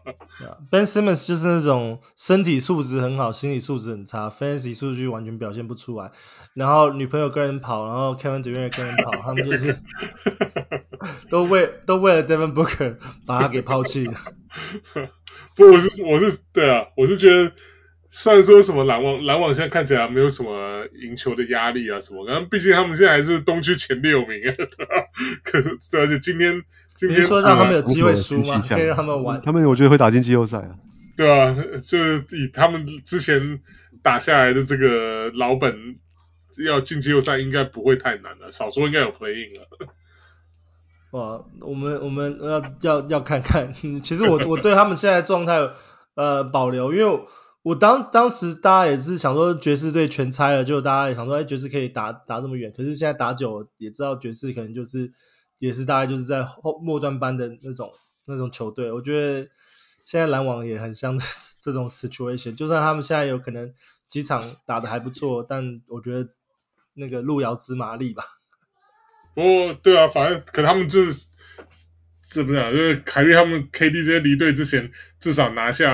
Ben Simmons 就是那種身體素質很好，心理素質很差 ，Fantasy 數據完全表現不出來。然後女朋友跟人跑，然後 Kevin Durant 跟人跑，他們就是都為了 Devin Booker 把他給拋棄了。 不，我是對啊，我是覺得，雖然說什麼籃網現在看起來沒有什麼贏球的壓力啊什麼，然後畢竟他們現在還是東區前6名啊，可是而且今天你是說讓他們有機會輸嗎？可以讓他們玩？ 他們我覺得會打進季後賽啊。 對啊，就是以他們之前打下來的這個老本，要進季後賽應該不會太難了，少說應該有 play-in 了。 哇，我們要看看。其實我對他們現在狀態保留，因為我當時大家也是想說爵士隊全拆了，就大家也想說爵士可以打這麼遠，可是現在打久了也知道爵士可能也是大概就是在末段班的那種球隊。我覺得現在籃網也很像這種 situation， 就算他們現在有可能幾場打得還不錯，但我覺得那個路遙知馬力吧。 對啊，反正可他們是不是啊？就是凱瑞他們 KD 這些離隊之前，至少拿下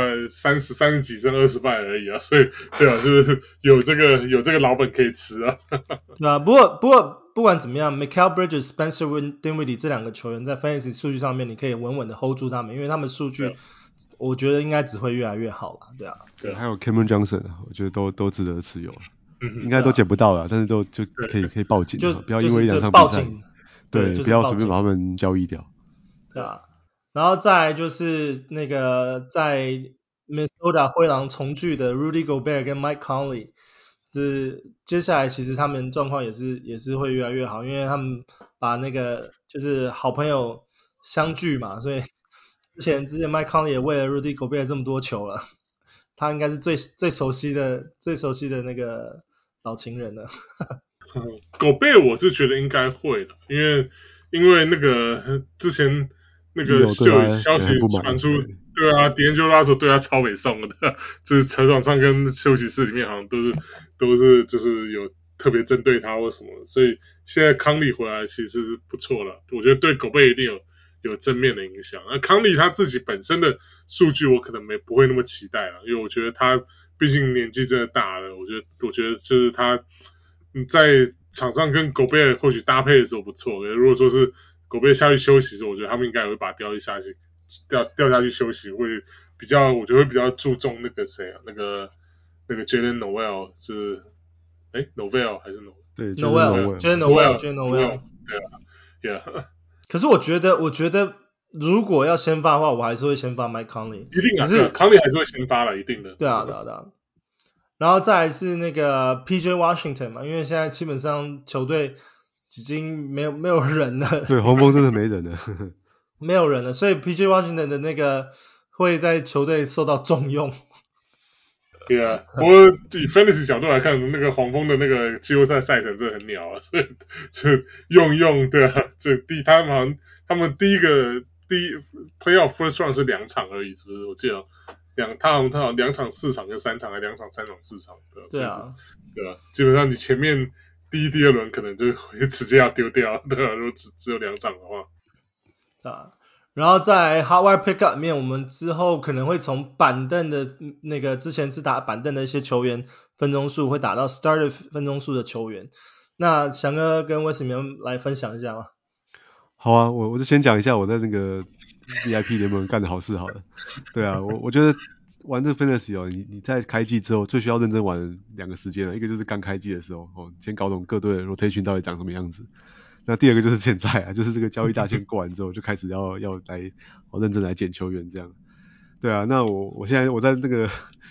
30幾勝20敗而已啊，所以對啊，就是有這個老本可以吃啊。 對啊，不過不管怎麼樣 ，Mikal Bridges、Spencer Dinwiddie 這兩個球員在 Fantasy 數據上面，你可以穩穩的 hold 住他們，因為他們數據我覺得應該只會越來越好啦。對啊， 對，還有 Cameron Johnson， 我覺得都值得持有。應該都撿不到了，但是就可以報警，不要因為一兩場比賽，對，不要隨便把他們交易掉。 对啊，然後再來就是那個在 Minnesota 灰狼重聚的 Rudy Gobert 跟 Mike Conley， 就是接下來其實他們狀況也是會越來越好，因為他們把那個就是好朋友相聚嘛，所以之前 Mike Conley 也為了 Rudy Gobert 這麼多球了，他應該是最熟悉的那個老情人了。 狗貝我是覺得應該會的，因為那個之前那個就有消息傳出，對啊，D'Angelo Russell 對他超北宋的，就是球場上跟休息室裡面好像都是就是有特別針對他或什麼，所以現在康利回來其實是不錯了，我覺得對狗貝一定有正面的影響。那康利他自己本身的數據我可能不會那麼期待了，因為我覺得他畢竟年紀真的大了，我覺得就是他在場上跟狗貝或許搭配的時候不錯，如果說是狗貝下去休息的時候，我覺得他們應該也會把掉下去休息，會比較，我觉得會比較注重那個誰啊，那個 Jalen Noel 是Noel 还是 Noel？ 对 Jalen Noel， 对啊 ，Yeah。 可是我觉得如果要先發的话，我還是會先發 Mike Conley。 一定啊， 只是康利還是會先發了，一定的。 对啊。然後再來是那個 PJ Washington 嘛，因為現在基本上球隊已經沒有人了。 對，黃蜂真的沒人了。 沒有人了，所以 PJ Washington 的那個會在球隊受到重用。 對啊，不過以 Fantasy 角度來看，那個黃蜂的那個季後賽賽程真的很鳥啊，所以就用對啊，他們第一 Playoff First Round 是2場而已，是不是？我記得他好像2場4場跟3場，還2場3場4場， 对啊， 对啊，基本上你前面第1、第2輪可能就會直接要丟掉，對啊，如果只有2場的話。 啊，然後在 Hardware Pickup 裡面，我們之後可能會從板凳的那個之前是打板凳的一些球員分鐘數，會打到 Starter 分鐘數的球員。那翔哥跟威斯你們來分享一下嗎？ 好啊，我就先講一下我在那個 VIP 聯盟幹的好事好了。對啊，我觉得玩這個 Fantasy 哦，你在開季之後最需要認真玩2個時間了，一個就是剛開季的時候先搞懂各隊的 rotation 到底長什麼樣子。那第二個就是現在啊，就是這個交易大限過完之後，就開始要來認真來撿球員這樣。對啊，那我現在我在那個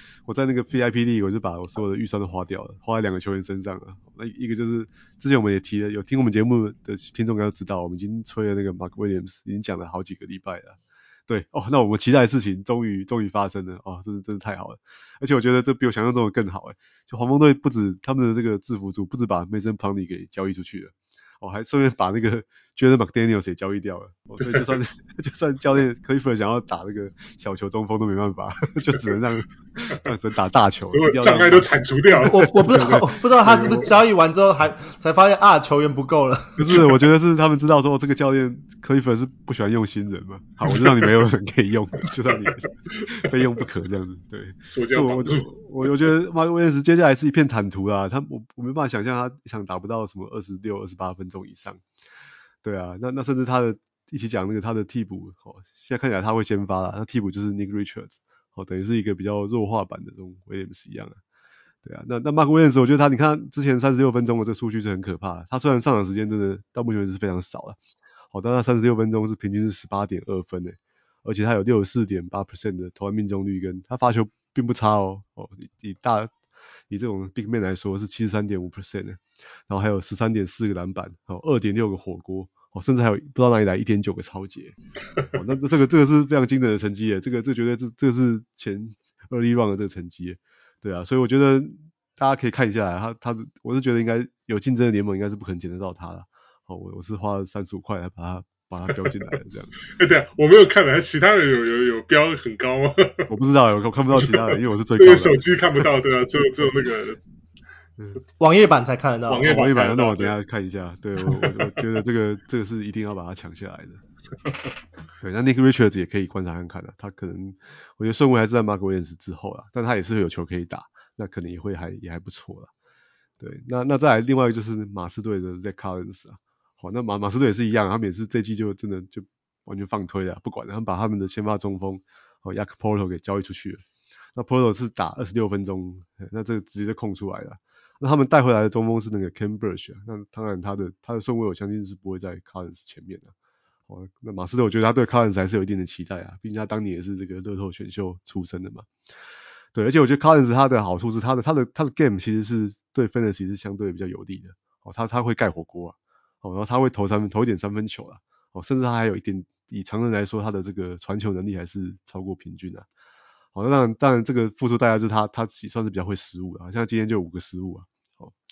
VIP 裡，我就把我所有的預算都花掉了，花在2個球員身上了。那一個就是之前我們也提了，有聽我們節目的聽眾應該都知道，我們已經吹了那個 Mark Williams， 已經講了好幾個禮拜了。對哦，那我們期待的事情終於發生了啊！真的太好了，而且我覺得這比我想象中的更好誒。就黃蜂隊不止他們的這個制服組不止把 Mason Plumlee 給交易出去了。還順便把那個 Jaden McDaniels 也交易掉了，所以就算教練 Clifford 想要打那個小球中鋒都沒辦法，就只能讓真打大球， 障礙都鏟除掉了。 我不知道他是不是交易完之後才發現球員不夠了。 不是，我覺得是他們知道說這個教練 Clifford 是不喜歡用新人嘛，好，我就讓你沒有人可以用，就讓你非用不可這樣子。對，所以我覺得 Mark Williams 接下來是一片坦途啦，我沒辦法想象他一場打不到什麼26、28分鐘以上。对啊，那甚至他的一起講那個他的替補現在看起來他會先發啦，他替補就是 Nick Richards 等於是一個比較弱化版的這種 Williams 一樣啊。對啊，那 Mark Williams 我覺得你看之前36分鐘的這個數據是很可怕的，他雖然上場時間真的到目前為止是非常少了，但他36分鐘是平均是 18.2 分誒，而且他有 64.8% 的投籃命中率，跟他發球並不差以這種 big man 來說是 73.5% 的，然後還有 13.4 個籃板，2.6 個火鍋，甚至還有不知道哪裡來 1.9 個抄截。那這個是非常驚人的成績耶，這絕對這個是前 early round 的這個成績耶。對啊，所以我覺得大家可以看一下來，我是覺得應該有競爭的聯盟應該是不可能撿得到他了。我是花了35塊來把它標進來的這樣。 對啊，我沒有看來其他人有標很高嗎？ 我不知道，我看不到其他人，因為我是最高的。 手機看不到，對啊，只有那个網頁版才看得到。 網頁版， 那我等一下看一下。對，我覺得這個是一定要把它搶下來的。對，那 Nick Richards 也可以觀察看看的，他可能我覺得順位還是在 Mark Williams 之後啦，但他也是會有球可以打，那可能也還不錯啦。對，那再來另外一個就是馬刺隊的 Zach Collins 啊。好，那馬刺隊也是一樣，他們也是這季就真的就完全放推了，不管了，他們把他們的先發中鋒Jakob Poeltl 給交易出去了。那 Poeltl 是打26分鐘，那這個直接就空出來了。那他們帶回來的中鋒是那個 Khem Birch 啊，那當然他的順位我相信是不會在 Collins 前面的。那馬刺隊我覺得他對 Collins 還是有一定的期待啊，畢竟他當年也是這個樂透選秀出身的嘛。對，而且我覺得 Collins 他的好處是他的 game 其實是對 Fantasy 是相對比較有利的。他會蓋火鍋啊。然後他會投一點三分球啦，甚至他還有一點，以常人來說，他的這個傳球能力還是超過平均啊。那當然這個付出代價就是他算是比較會失誤啊，像今天就5個失誤啊。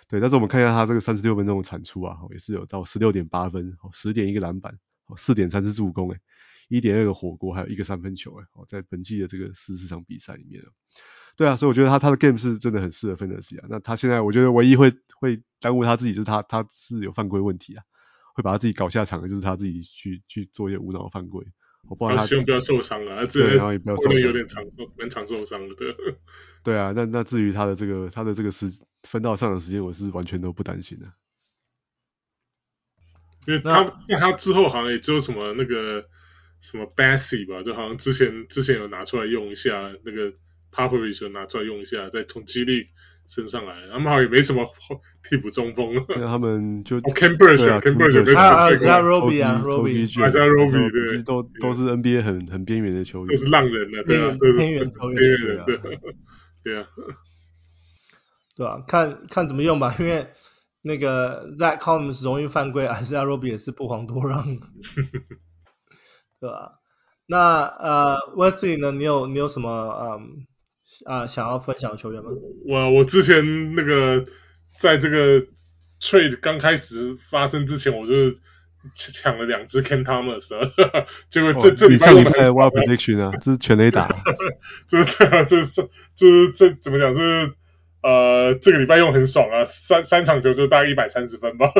對，但是我們看一下他這個36分鐘的產出啊，也是有到 16.8 分，10.1個籃板，4.3次助攻，1.2個火鍋，還有1個3分球在本季的這個14場比賽裡面。對啊，所以我覺得他的 game 是真的很適合 Fantasy 啊。那他現在我覺得唯一會耽誤他自己就是他是有犯規問題啊，會把他自己搞下场的就是他自己去做一些無腦犯規。我不知道他希望不要受傷啊， 对，然後也不要受伤， 有點蠻常受傷的。 对啊，那至於他的這個分到上場時間，我是完全都不擔心的。 因為他之後好像也只有什麼那個什麼 Bassey 吧，就好像之前有拿出來用一下，那個 Popovich 有拿出來用一下，在從G League升上來，他們好像也沒什麼替補中鋒。 那他們就 Ken Burch 也沒什麼。 還有 Roby， Roby 其實都是 NBA 很邊緣的球员， 都是浪人了，对啊， 边缘球员， 对啊， 对啊，看怎麼用吧，因為那個 Zach Collins 容易犯規，Isaiah Roby 也是不遑多讓，對吧？那Wesley 呢？你有什麼想要分享的球員嗎？ 我之前那個在這個 trade 剛開始發生之前，我就搶了2隻 Cam Thomas， 結果這禮拜用的很爽 Wild Prediction 啊，這是全壘打， 就是這怎麼講？就是這個禮拜用很爽啊，三場球就大概130分吧。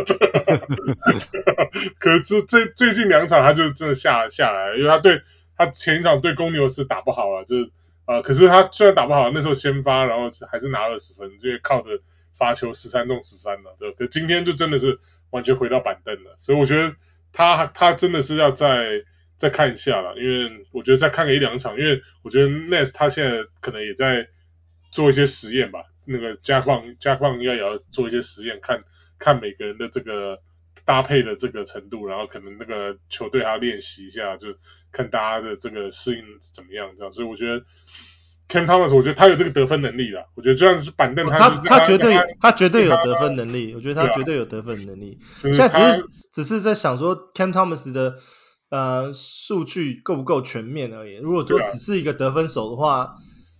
可是最近2場他就真的下來了，因為他前一場對公牛是打不好了，就是可是他雖然打不好，那時候先發，然後還是拿20分，因為靠着罰球13中13了，對。可今天就真的是完全回到板凳了，所以我覺得他真的是要再看一下了，因為我覺得再看個1-2場，因為我覺得 Ness 他現在可能也在做一些實驗吧，那個 Jack Vaughn 也要做一些實驗，看每個人的這個搭配的這個程度，然後可能那個球隊還要練習一下，就看大家的這個適應怎麼樣這樣。所以我覺得 Cam Thomas 我覺得他有這個得分能力啦，我覺得就算是板凳他絕對有得分能力，我覺得他絕對有得分能力。現在只是在想說 Cam Thomas 的數據夠不夠全面而已。如果說只是一個得分手的話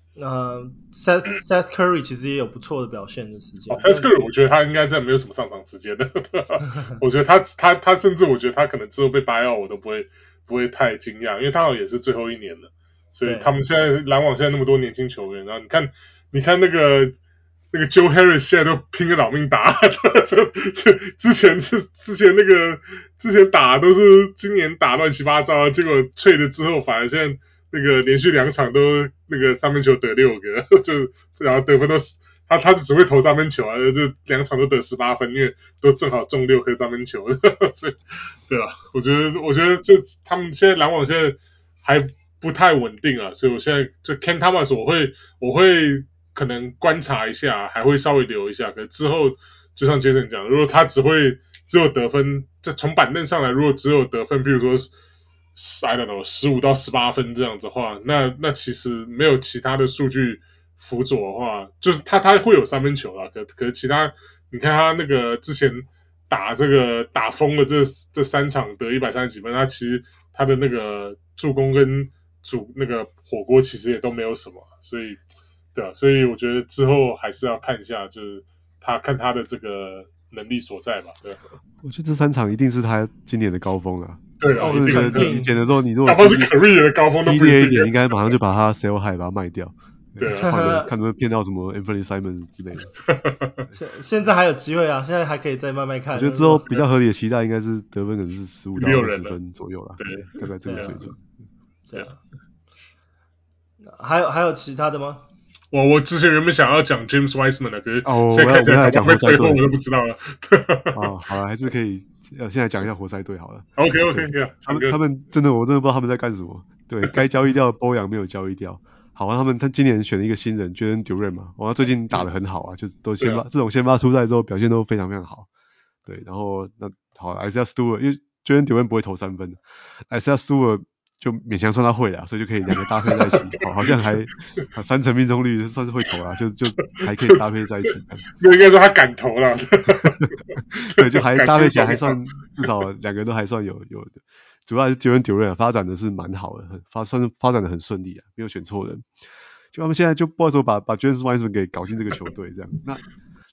Seth Curry 其實也有不錯的表現的時間。 Seth Curry 我覺得他應該真的沒有什麼上場時間的，我覺得他甚至我覺得他可能之後被buyout我都不會太驚訝，因為他好像也是最後1年了，所以他們現在籃網現在那麼多年輕球員，然後你看那個 Joe Harris 現在都拼個老命打，就之前打都是今年打亂七八糟，結果trade之後反而現在那個連續2場都那個3分球得6個，就然後得分都他只會投3分球啊，就2場都得18分，因為都正好中6顆3分球，所以對啊，我覺得就他們現在籃網现在還不太穩定啊，所以我現在就 Cam Thomas 我會可能觀察一下，還會稍微留一下，可是之後就像 Jason 講，如果他只有得分，這從板凳上來，如果只有得分，譬如說I don't know 15到18分這樣子的話，那其實沒有其他的數據輔佐的話，就是他會有3分球啦，可是其他你看他那個之前打瘋了這3場得130幾分，他其實他的那個助攻跟那個火鍋其實也都沒有什麼，所以對啊，所以我覺得之後還是要看一下，就是看他的這個能力所在吧，对。 我覺得這3場一定是他今年的高峰啊。 對啊， 就是你撿的時候，你如果哪怕是 career 的高峰都不一點，應該馬上就把他 sell high 把它賣掉。 對啊， 看能不能騙到什麼 Anthony Simons 之類的。 現在還有機會啊，現在還可以再慢慢看。 我覺得之後比較合理的期待應該是得分可能是15到20分左右啦，對，大概這個水準。 對啊。還有其他的嗎？ 我之前原本想要講 James Wiseman 的，可是現在看起來講活塞隊， 我都不知道了。 好了，還是可以現在講一下活塞隊好了。 OK， 他們真的我真的不知道他們在幹什麼。對，該交易掉的 Bojan 沒有交易掉。好啊，他今年選了一個新人 Jalen Duren 嘛，他最近打得很好啊，就都这種先發出賽之後表現都非常非常好。對，然後那好 Isaiah Stewart 因為 Jalen Duren 不會投3分 ，Isaiah Stewart 就勉強算他會啦，所以就可以2個搭配在一起，好像還3成命中率算是會投啦，就還可以搭配在一起。 那應該說他敢投啦。 對，就還搭配起來還算至少2個都還算有的。主要還是 Jalen Duren 發展的是蠻好的，算是發展的很順利啊，沒有選錯人。就他們現在就不知道說把 James Wiseman 給搞進這個球隊這樣。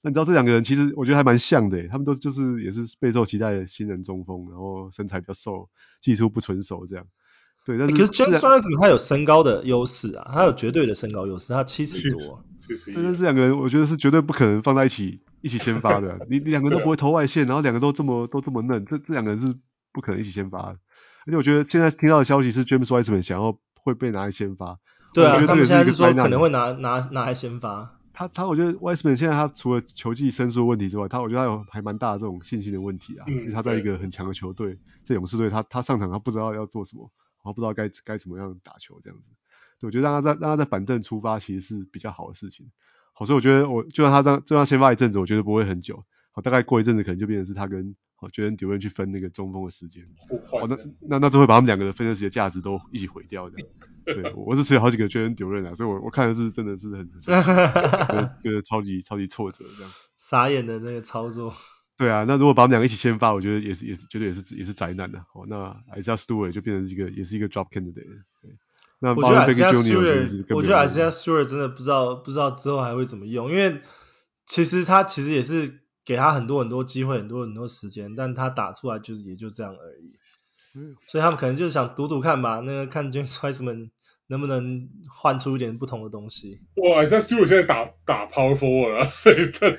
那你知道這兩個人其實我覺得還蠻像的，他們都就是也是備受期待的新人中鋒，然後身材比較瘦，技術不成熟這樣。对，但是可是 James Wiseman 他有身高的優勢啊，他有絕對的身高優勢，他70多。 但是这两個人我覺得是絕對不可能放在一起先發的，你兩個都不會投外線，然後兩個都這麼嫩，這兩個人是不可能一起先發的。而且我覺得現在聽到的消息是 James Wiseman 想要會被拿來先發。 對啊， 我覺得這也是一個災難。 他们現在是說可能會拿來先發。 我覺得 Wiseman 現在他除了球技生疏的問題之外，我覺得他有還蠻大的這種信心的問題啊。因為他在一個很強的球隊，在勇士隊，他上場他不知道要做什麼，然後不知道該怎麼樣打球這樣子。對，我覺得讓他在板凳出發其實是比較好的事情。好，所以我覺得就算他先發一陣子，我覺得不會很久。好，大概過一陣子可能就變成是他跟Jalen Duren去分那個中鋒的時間。那這會把他們兩個的分身時的價值都一起毀掉的。對，我是持有好幾個 Jalen Duren 啊，所以我看的是真的是很覺得超級挫折這樣。 傻眼的那個操作。 對啊，那如果把他們兩個一起先發，我覺得也是絕對也是災難的。哦，那 Isaiah Stewart 就變成也是一個 drop candidate。對，那我覺得 Isaiah Stewart 真的不知道之後還會怎麼用，因為其實他也是給他很多機會，很多時間，但他打出來也就這樣而已。所以他們可能就是想賭看吧，那個看 James Wiseman 能不能換出一點不同的東西。 哇 ，Isaiah Stewart 現在打 Power Forward 啊，所以他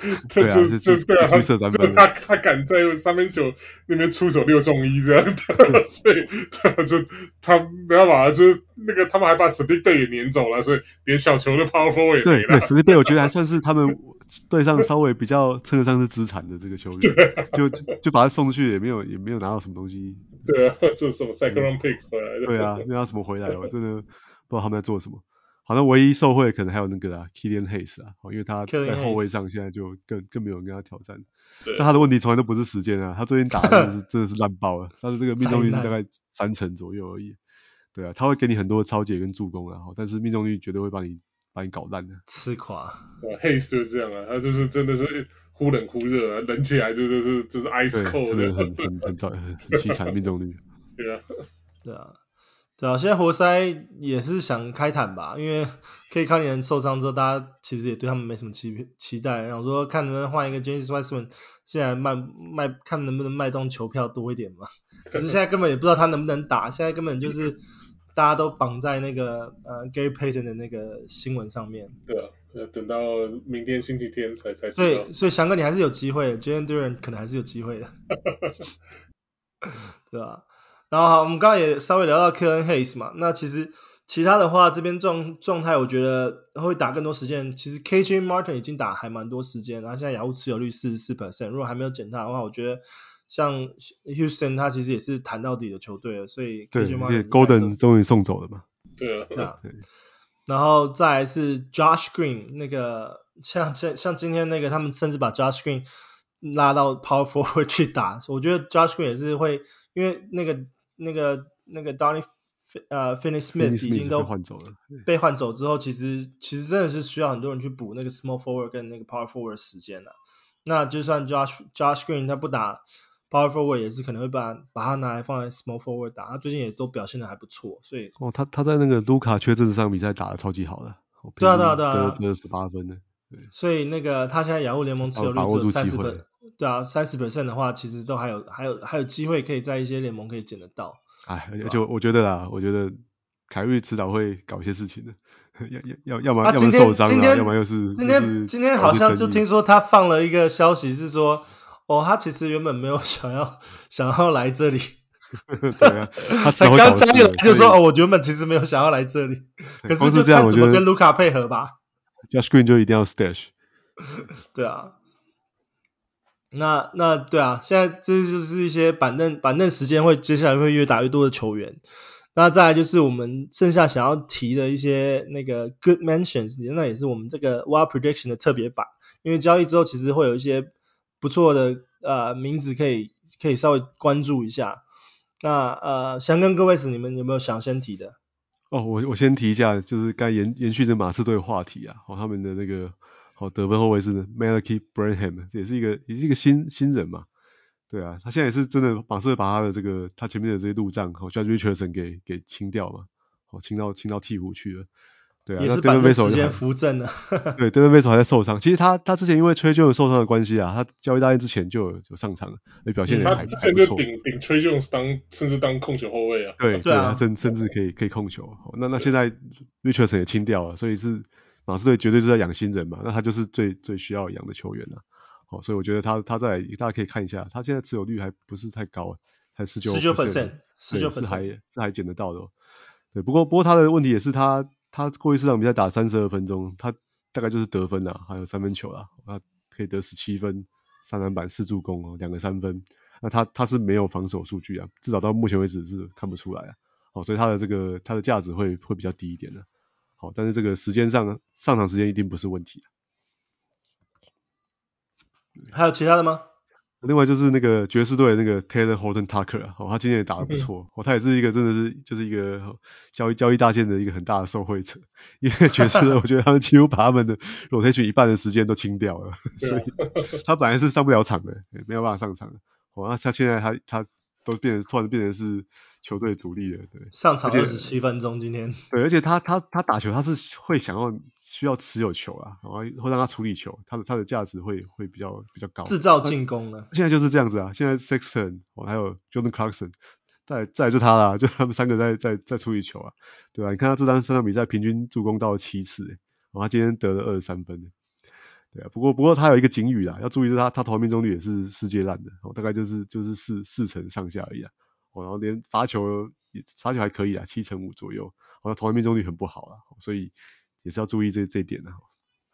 敢在三分球那邊出手6中1這樣的，所以他沒辦法，就是那個他們還把 Saddiq Bey 給攆走了，所以連小球的 Power Forward 也沒了。 對 Saddiq Bey 我覺得還算是他們隊上稍微比較稱得上是資產的這個球員，就把他送出去也沒有拿到什麼東西。 對啊，這是什麼 second round picks 回來的？對啊，沒拿什麼回來，我真的不知道他們在做什麼。好像唯一受惠可能還有那個Killian Hayes 啊，因為他在後衛上現在就更沒有人跟他挑戰。但他的問題從來都不是時間啊，他最近打的真的是爛爆了，他的這個命中率是大概30%左右而已。對啊，他會給你很多超解跟助攻啊，但是命中率絕對會把你搞爛的， 吃垮。 Hayes 就是這樣啊，他就是真的是忽冷忽熱啊，冷起來就是 ice cold， 真的很淒慘命中率。 對啊。 現在活塞也是想開坦吧，因為 K 康年受傷之後，大家其實也對他們沒什麼期待，然後說看能不能換一個 James Wiseman， 現在賣看能不能賣動球票多一點嘛。可是現在根本也不知道他能不能打，現在根本就是大家都綁在那個Gary Payton 的那個新聞上面。 對啊，等到明天星期天才知道。 所以翔哥你還是有機會的 ，Jalen Duren 可能還是有機會的，對吧？然後好，我們剛剛也稍微聊到 Killian Hayes 嘛，那其實其他的話這邊狀態我覺得會打更多時間，其實 KJ Martin 已經打還蠻多時間，然後現在雅虎持有率 44%， 如果還沒有減他的話，我覺得像 Houston 他其實也是談到底的球隊了，所以 KJ Martin Golden 終於送走了嘛。 對啊。 然後再來是 Josh Green， 那個像今天那個他們甚至把 Josh Green 拉到 Power Forward 去打，我覺得 Josh Green 也是會，因為那個 Donnie Finney-Smith 已經都被換走之後，其實真的是需要很多人去補那個 Small Forward 跟那個 Power Forward 時間了。那就算 Josh Green 他不打 Power Forward 也是可能會把他拿來放在 Small Forward 打，他最近也都表現得還不錯，所以他在那個盧卡缺陣這場比賽打得超級好的， 對啊， 得18分的。 所以那個他現在雅虎聯盟持有率只有30%，對啊，30% 的話，其實都還有機會可以在一些聯盟可以撿得到。 而且我覺得凱瑞遲早會搞一些事情的，要麼受傷要麼又是今天好像就聽說他放了一個消息是說，他其實原本沒有想要來這裡。 對啊，他才剛加入就說我原本其實沒有想要來這裡，可是就看怎麼跟盧卡配合吧。 Josh Green 就一定要 stash。 對啊，那對啊，現在這就是一些板凳時間接下來會越打越多的球員。那再來就是我們剩下想要提的一些那個 good mentions， 那也是我們這個 Wild Prediction 的特別版，因為交易之後其實會有一些不錯的名字可以稍微關注一下。那想跟各位你們有沒有想先提的？ 我先提一下，就是該延續着馬刺隊的話題啊，他們的那個得分後衛是 Malachi Branham， 也是一個新人嘛，對啊，他現在也是真的馬刺隊把他的他前面的這些路障，Josh Richardson 給清掉嘛，清到鹈鶘去了。 對啊， 也是板凳時間扶正了。 对 ，Devin Vassell 還在受傷。其實他之前因為Tre Jones受傷的關係啊，他交易大限之前就有上場了，而表现也還不錯。 他之前就頂Tre Jones甚至當控球後衛啊。 对，他甚至可以控球。那現在 Richardson 也清掉了，所以是馬刺队絕对是在養新人嘛，那他就是最需要養的球員了。所以我覺得他在大家可以看一下，他現在持有率還不是太高，才19%，对，是還撿得到的。对，不過他的問題也是他過去4場比賽打32分鐘，他大概就是得分啦，還有3分球啦，他可以得17分、3籃板、4助攻2個3分。那他是沒有防守數據啊，至少到目前為止是看不出來啊。所以他的價值會比較低一點的。好，但是這個時間上場時間一定不是問題。 還有其他的嗎？ 另外就是那個爵士隊的那個 Taylor Horton Tucker 啊，他今天也打得不錯，他也是一個真的是就是一個交易大限的一個很大的受惠者，因為爵士隊我覺得他們幾乎把他們的 rotation 一半的時間都清掉了，所以他本來是上不了場的，沒有辦法上場的。那他現在他都突然变成是球隊主力了，对， 上场27分鐘今天。 对，而且他打球他是会需要持有球啊，然后会讓他處理球，他的價值會比較高，制造進攻了。 現在就是這樣子啊，現在 Sexton 還有 Jordan Clarkson 再來就他啦，就他們3個在處理球啊，對吧？你看他這場比賽平均助攻到7次，他今天得了23分，對啊。不過他有一個警語啦，要注意是他投命中率也是世界爛的，大概就是4成上下而已啊，然後連罰球還可以啦，7.5%左右，投籃命中率很不好啦，所以也是要注意這一點啦。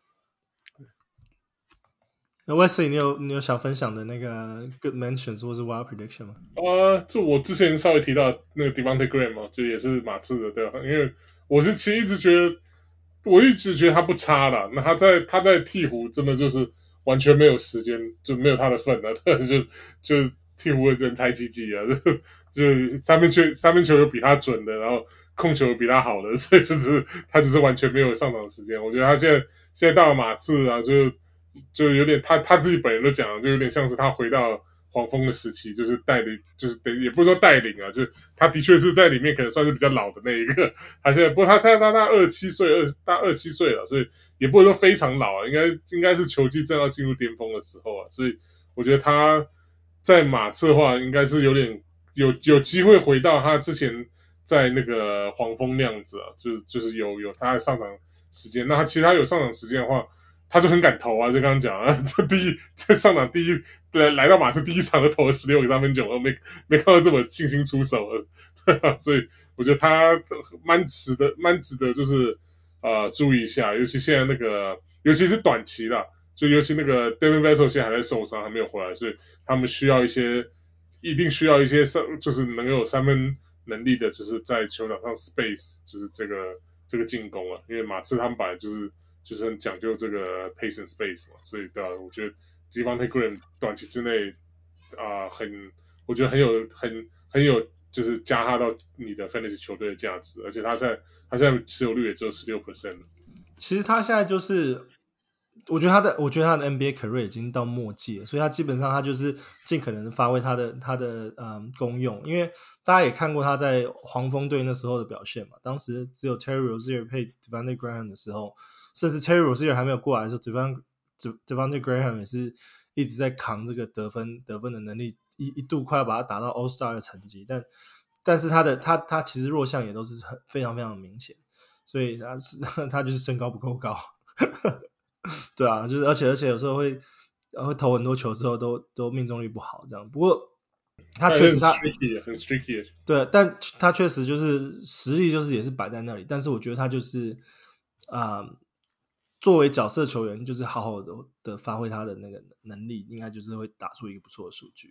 那 Wesley 你有想分享的那個 good mentions 或是 wild prediction 嗎？ 就我之前稍微提到那個 Devontae Graham 嘛，就也是馬刺的，對吧？因為我其實一直覺得他不差啦，那他在鹈鶘真的就是完全沒有時間，就沒有他的份了，就鹈鶘人才濟濟啊，就三分球有比他準的，然後控球有比他好的，所以他就是完全沒有上場時間。我覺得他現在到了馬刺啊，就有點他自己本人都講了，就有點像是他回到黃蜂的時期，就是也不是說帶領啊，就是他的確是在裡面可能算是比較老的那一個。他現在不過他27歲了，所以也不会說非常老啊，應該是球技正要進入巔峰的時候啊，所以我覺得他在馬刺的話，應該是有點有機會回到他之前在那個黃蜂那樣子啊，就是有他的上場時間。那他其實他有上場時間的話，他就很敢投啊，就剛剛講啊，他在上場來到馬刺第一場就投了16個3分球，沒看到這麼信心出手了，所以我覺得他蠻值得就是注意一下，尤其現在尤其是短期啦，就尤其那個 Devin Vassell 現在還在受傷，還沒有回來，所以他們一定需要一些就是能夠有3分能力的，就是在球場上 space 就是這個進攻啊，因為馬刺他們本來就是很講究這個 pace and space 嘛，所以對啊，我覺得 Devontae Graham 短期之內我覺得很有就是加他到你的 fantasy 球隊的價值，而且他現在持有率也只有 16% 了。 其實他現在就是我觉得他的 NBA career 已經到末季了，所以他基本上他就是盡可能的發揮他的功用，因為大家也看過他在黃蜂隊那時候的表現嘛，當時只有 Terry Rozier 配 Devontae Graham 的時候，甚至 Terry Rozier 還沒有過來的時候 Devontae Graham 也是一直在扛這個得分的能力，一度快要把他打到 All Star 的成績，但是他其實弱項也都是非常非常明顯，所以他就是身高不夠高。對啊，就是而且有時候会投很多球之后都命中率不好這樣。不過他確實很 streaky。 對，但他確實就是實力就是也是擺在那裡，但是我覺得他就是作為角色球員就是好好的發揮他的那個能力，應該就是會打出一個不錯的數據。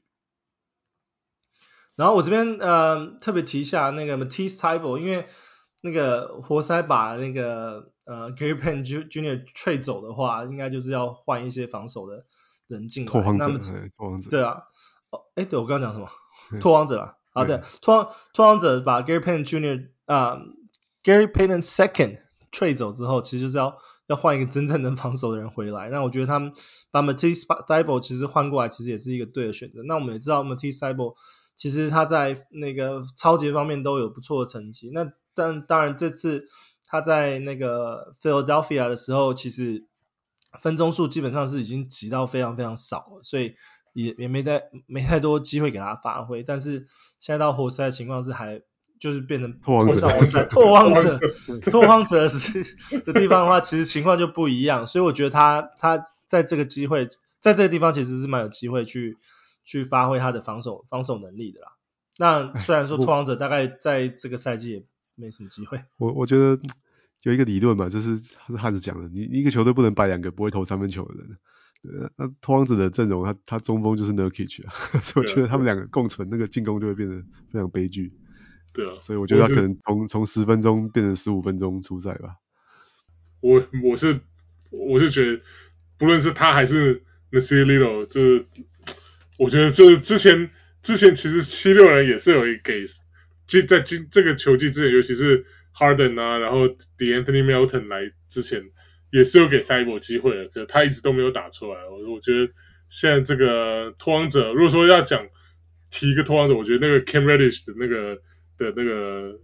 然後我這邊特別提一下那個 Matisse Thybulle， 因為那個活塞把那個Gary Payton Jr. trade 走的話，應該就是要換一些防守的人進來。拓荒者。对啊，对，我剛剛講什麼？拓荒者啊，好的，拓荒者把 Gary Payton Jr. Gary Payton Second trade 走之後，其實就是要換一個真正能防守的人回來。那我覺得他們把 Matisse Thybulle 其實換過來，其實也是一個對的選擇。那我們也知道 Matisse Thybulle 其實他在那個抄截方面都有不錯的成績。那但當然這次他在那個 Philadelphia 的時候，其實分鐘數基本上是已經擠到非常非常少了，所以也沒太多機會給他發揮。但是現在到活塞的情況是還就是變成拓荒者拓荒者的地方的話，其實情況就不一樣。所以我覺得他在这个机會，在這個地方其實是蠻有機會去發揮他的防守能力的啦。那雖然說拓荒者大概在這個賽季也沒什麼機會。 我覺得有一個理論嘛，就是漢子講的，你一個球隊不能擺兩個不會投三分球的人。對，那拓荒者的陣容，他中鋒就是 Nurkic 啊，所以我覺得他們兩個共存，那個進攻就會變得非常悲劇。 對啊， 所以我覺得他可能從10分鐘變成15分鐘出賽吧。 我是覺得，不論是他還是 Nasir Little， 就是我覺得就是之前其實76人也是有給在這個球季之前，尤其是 Harden 啊，然後 D'Anthony Melton 來之前，也是有給 Thybulle 機會的，可是他一直都沒有打出來。我覺得現在這個拓荒者，如果說要提一個拓荒者，我覺得那個 Cam Reddish 的那個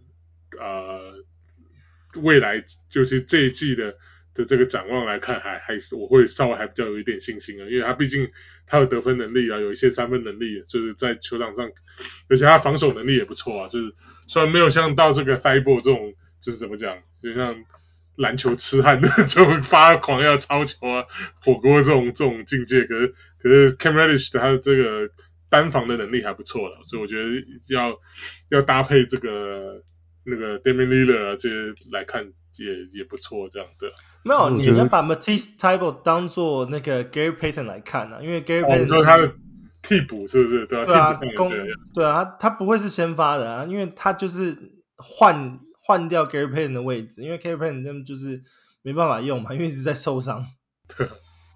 未來就是這一季的這個展望來看，還是我會稍微還比較有一點信心啊，因為他畢竟他有得分能力啊，有一些三分能力，就是在球場上，而且他防守能力也不錯啊，就是雖然沒有像到這個 Thybulle 這種，就是怎麼講，就像籃球痴漢的這種發狂要抄球啊、火鍋這種境界，可是 Cam Reddish 他的這個單防的能力還不錯了，所以我覺得要搭配這個那個 Damian Lillard 啊這些來看也不錯，這樣的。 沒有，你要把 Matisse Thybulle 當做那個 Gary Payton 來看啊，因為 Gary Payton 你說他的替補是不是？對啊， 對啊， 替補上對啊，他不會是先發的啊，因為他就是換掉 Gary Payton 的位置，因為 Gary Payton 他們就是沒辦法用嘛，因為一直在受傷。 對。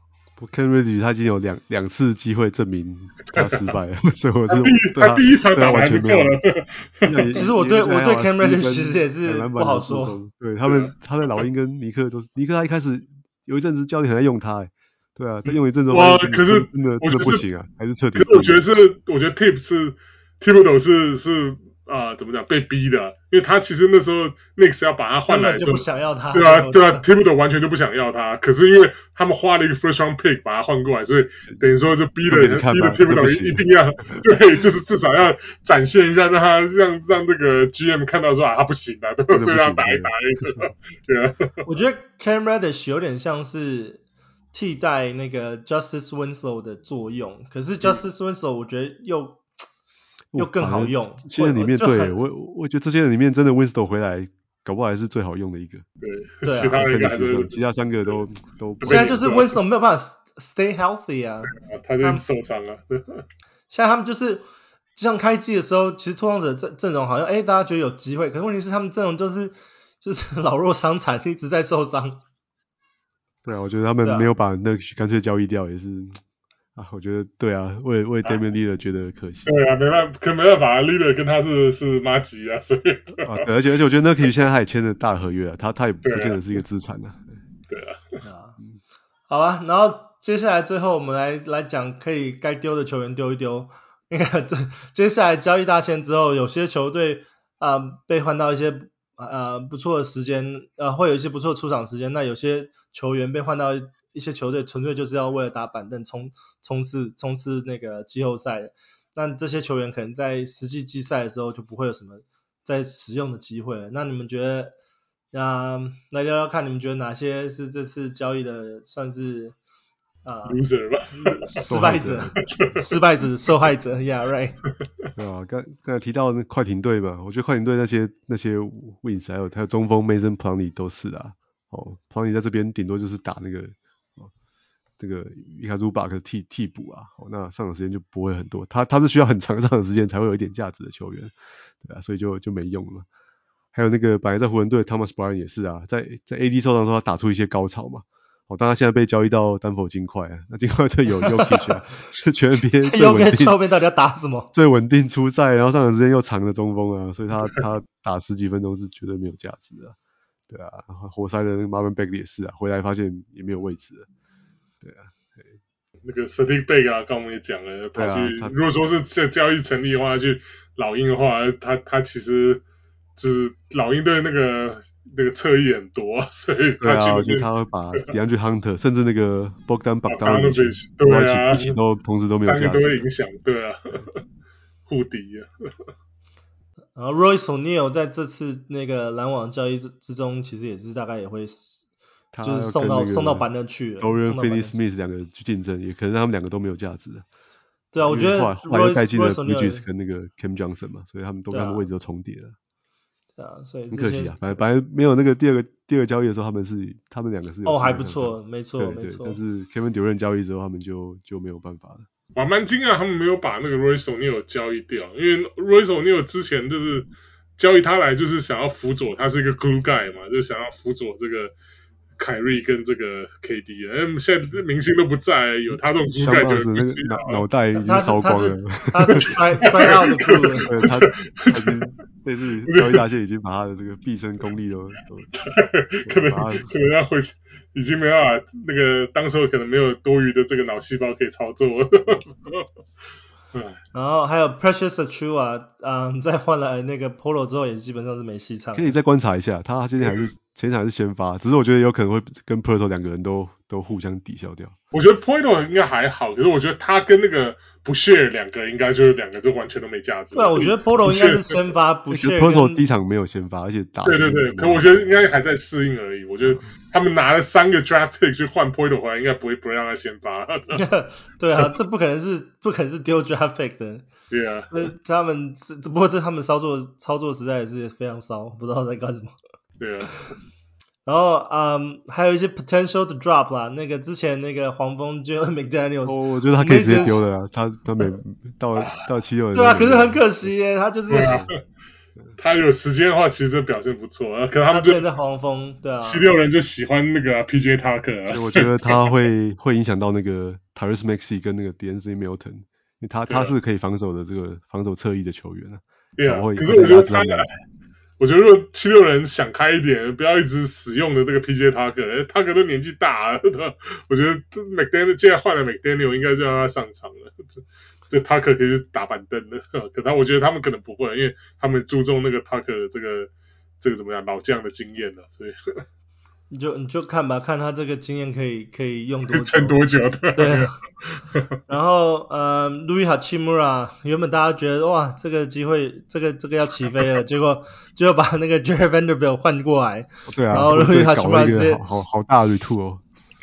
Cam Reddish 他已經有兩次機會證明他失敗了，所以我是他第一場打完不錯了。 其實我對 Cam Reddish 其實也是不好說。 對他在老鷹跟尼克都是，尼克他一開始有一陣子教練很愛用他，對啊，他用一陣子哇，可是真的不行啊，還是徹底。 可是我覺得 Thibodeau 是怎麼講被逼的，因為他其實那時候 Knicks 要把他換來的時候， 根本就不想要他。 對啊 Thibodeau 完全就不想要他，可是因為他們花了一個 first round pick 把他換過來，所以等於說就逼了 Thibodeau 一定要對，就是至少要展現一下，讓這個 GM 看到說他不行啊，所以要打一打對啊。 我覺得 Cam Reddish 有點像是替代那個 Justice Winslow 的作用，可是 Justice Winslow 我覺得又更好用。 这些人裡面，對，我覺得這些人裡面真的 Winslow 回來，搞不好還是最好用的一個。 對，其他人還是其他三個都。 現在就是 Winslow 沒有辦法 stay healthy 啊， 他就是受傷啊。 現在他們就是就像開季的時候，其實拓荒者陣容好像大家覺得有機會，可是問題是他們陣容就是老弱傷殘，一直在受傷。 對啊，我覺得他們沒有把那個乾脆交易掉也是。我覺得對啊，為 Damian Lillard 覺得可惜。 對啊，沒辦法 Lillard 跟他是麻吉啊，所以對， 而且我覺得 Nurkic 現在他也簽了大合約啊，他也不見得是一個資產啊。 對啊。 好吧，然後接下來最後我們來講可以該丟的球員丟一丟。那個接下來交易大限之後，有些球隊被換到一些不錯的時間，會有一些不錯的出場時間。那有些球員被換到一些球隊純粹就是要為了打板凳衝刺那個季後賽的，那這些球員可能在實際季賽的時候就不會有什麼再使用的機會了。那你們覺得來聊聊看，你們覺得哪些是這次交易的算是 loser 吧， 失敗者受害者 yeah right。 對啊，剛才提到那快艇隊嘛，我覺得快艇隊那些 wings 還有中鋒 Mason Plumlee 都是啊。Plumlee 在這邊頂多就是打那個這個Ivica Zubac 的替補啊，那上場時間就不會很多，他是需要很長上場時間才會有一點價值的球員，對啊，所以就沒用了嘛。還有那個本來在湖人隊 Thomas Bryant 也是啊，在 AD 受傷的時候他打出一些高潮嘛，當他現在被交易到丹佛金塊啊，那金塊隊有 Jokic 啊，是全 NBA 最穩定， 後面到底要打什麼？ 最穩定出賽，然後上場時間又長的中鋒啊，所以他打十幾分鐘是絕對沒有價值的，對啊，活塞的那個 Marvin Bagley 也是啊，回來發現也沒有位置了。對啊， 那個 Saddiq Bey 啊，剛我們也講了，跑去如果說是這交易成立的話，去老鷹的話，他其實就是老鷹隊那個那個側翼很多，所以對啊，我覺覺得他會把 DeAndre Hunter 甚至那個 Bogdan Bogdanovic 對啊， 一起都同時都沒有價值， 三個都會影響，對啊，互敵啊。 然後 Royce O'Neal 在這次那個籃網交易之中，其實也是大概也会就是送到板凳去了。 Dorian Finney-Smith 兩個去競爭，也可能他們兩個都沒有價值。 對啊，我覺得後來又帶進了 Bridges 跟那個 Cam Johnson 嘛，所以他們位置都重疊了。 对啊，所以很可惜啊，本來沒有那個第二個交易的時候，他們兩個是有还不錯，没錯。 但是 Kevin Durant 交易之後，他們就沒有辦法了。 我蠻驚訝他們沒有把那個 Royce O'Neal 交易掉，因為 Royce O'Neal 之前就是交易他來就是想要輔佐，他是一個 glue guy 嘛，就想要輔佐這個凱瑞跟這個 KD 現在明星都不在，有他這種 glue guy 就那個腦袋已经燒光了， 他是摔到的 glue 了， 对他已經這次交易大線已經把他的這個畢生功力都可能要回去，已經沒辦法，那個當時候可能沒有多餘的這個腦細胞可以操作。 然後還有 Precious Achiuwa，在換了那個 Polo 之後，也基本上是沒戲唱。 可以再觀察一下，他今天前場還是先發，只是我覺得有可能會跟 Poeltl 兩個人都互相抵消掉。 我覺得 Poeltl 應該還好，可是我覺得他跟那個Boucher兩個人應該就是兩個就完全都沒價值。 對啊，我覺得 Poeltl 應該是先發，Boucher Poeltl 第一場沒有先發，而且打對，可我覺得應該還在適應而已。我覺得他們拿了3個 draft pick 去換 Poeltl 回來，應該不會讓他先發。 對啊，這不可能是丟 draft pick 的。 對啊， 他們不過他們操作實在也是非常騷，不知道在幹什麼。 对啊。 然後還有一些 potential to drop 啦，那個之前那個黃蜂 Jalen McDaniels， 我覺得他可以直接丟了啊，他沒到76人。 對啊，可是很可惜耶，他就是他有時間的話，其實這表現不錯啊。可能他們就在黃蜂，對啊 ，76人就喜歡那個PJ Tucker 啊。 所以我覺得他會影響到那個 Tyrese Maxey 跟那個 De'Anthony Melton， 因為他是可以防守的這個防守側翼的球員啊。 對啊，可是我覺得我覺得如果76人想開一點，不要一直使用的這個 PJ Tucker，Tucker 都年紀大了，我覺得 McDaniel 既然換了 McDaniel， 應該就讓他上場了。這 Tucker 可以去打板凳的，可我覺得他們可能不會，因為他們注重那個 Tucker 的這個怎麼樣老將的經驗了，所以你就看吧，看他這個經驗可以用多久， 撐多久的。 對。然後Rui Hachimura 原本大家覺得哇這個機會這個要起飛了，結果把那個 Jared Vanderbilt 換過來， 對啊， 然後 Rui Hachimura 直接好大的 retoo 哦。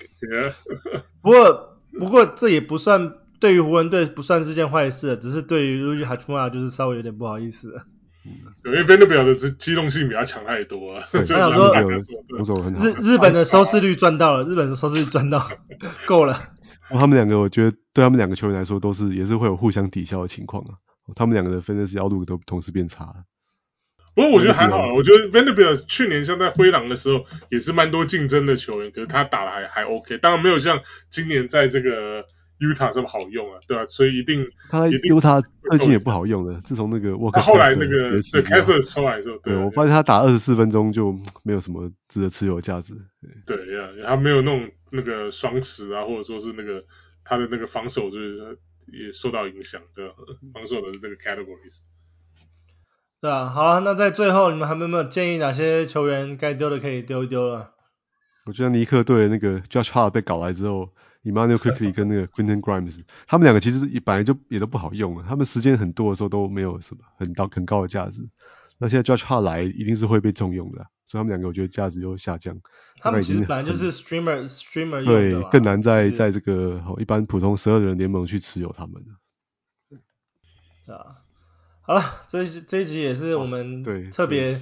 不過這也不算對於湖人隊不算是件壞事，只是對於 Rui Hachimura 就是稍微有點不好意思了。 因為 Vanderbilt 的機動性比他強太多啊。 他想說日本的收視率賺到了，夠了。 他們兩個我覺得對他們兩個球員來說也是會有互相抵消的情況啊。他們兩個的 fantasy outlook都同時變差了。 不過我覺得還好，我覺得 Vanderbilt 去年像在灰狼的時候也是蠻多競爭的球員，可是他打的還 OK， 當然沒有像今年在這個 Utah 這麼好用啊，對吧？所以一定他 Utah 最近也不好用了，自從那個沃克他後來那個Kessler 出來的時候， 對，我發现他打24分鐘就沒有什麼值得持有的價值。 对呀，他沒有那個雙持啊，或者說是那個他的那個防守就是也受到影響，對吧？防守的那個 categories。 对啊，好，那在最後你們還有沒有建議哪些球員該丟的可以丟一丟了？ 我覺得尼克隊的那個 Josh Hart 被搞來之後，Immanuel Quickley 跟那個 Quentin Grimes， 他們兩個其實本來就也都不好用啊，他們時間很多的時候都沒有什麼很高的價值。那現在 Josh Hart 來一定是會被重用的，所以他們兩個我覺得價值又下降。 他們其實本來就是 streamer 用的， 對，更難在這個一般普通12人聯盟去持有他們。 對啊。好了，這一集也是我們特別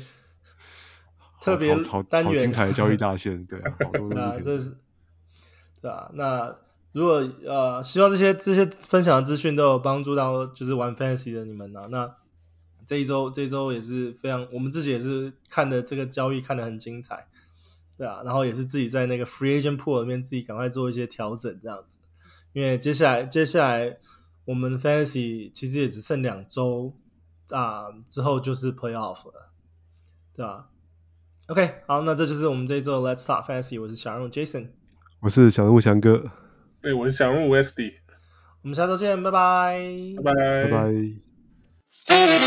單元， 好精彩的交易大線，對啊，好多東西可以講。 對啊，那如果希望這些分享的資訊都有幫助到就是玩 Fantasy 的你們啊，那這一周也是非常，我們自己也是看的這個交易看得很精彩，對啊，然後也是自己在那個 Free Agent Pool 裡面自己趕快做一些調整這樣子，因為接下來我們 Fantasy 其實也只剩2周。之後就是 Playoff 了，對吧 ？OK， 好，那這就是我們這一周 Let's Talk Fantasy， 我是小人物 Jason， 我是小人物翔哥， 對，我是小人物 Westy， 我們下周見，拜拜， 拜拜， 拜拜。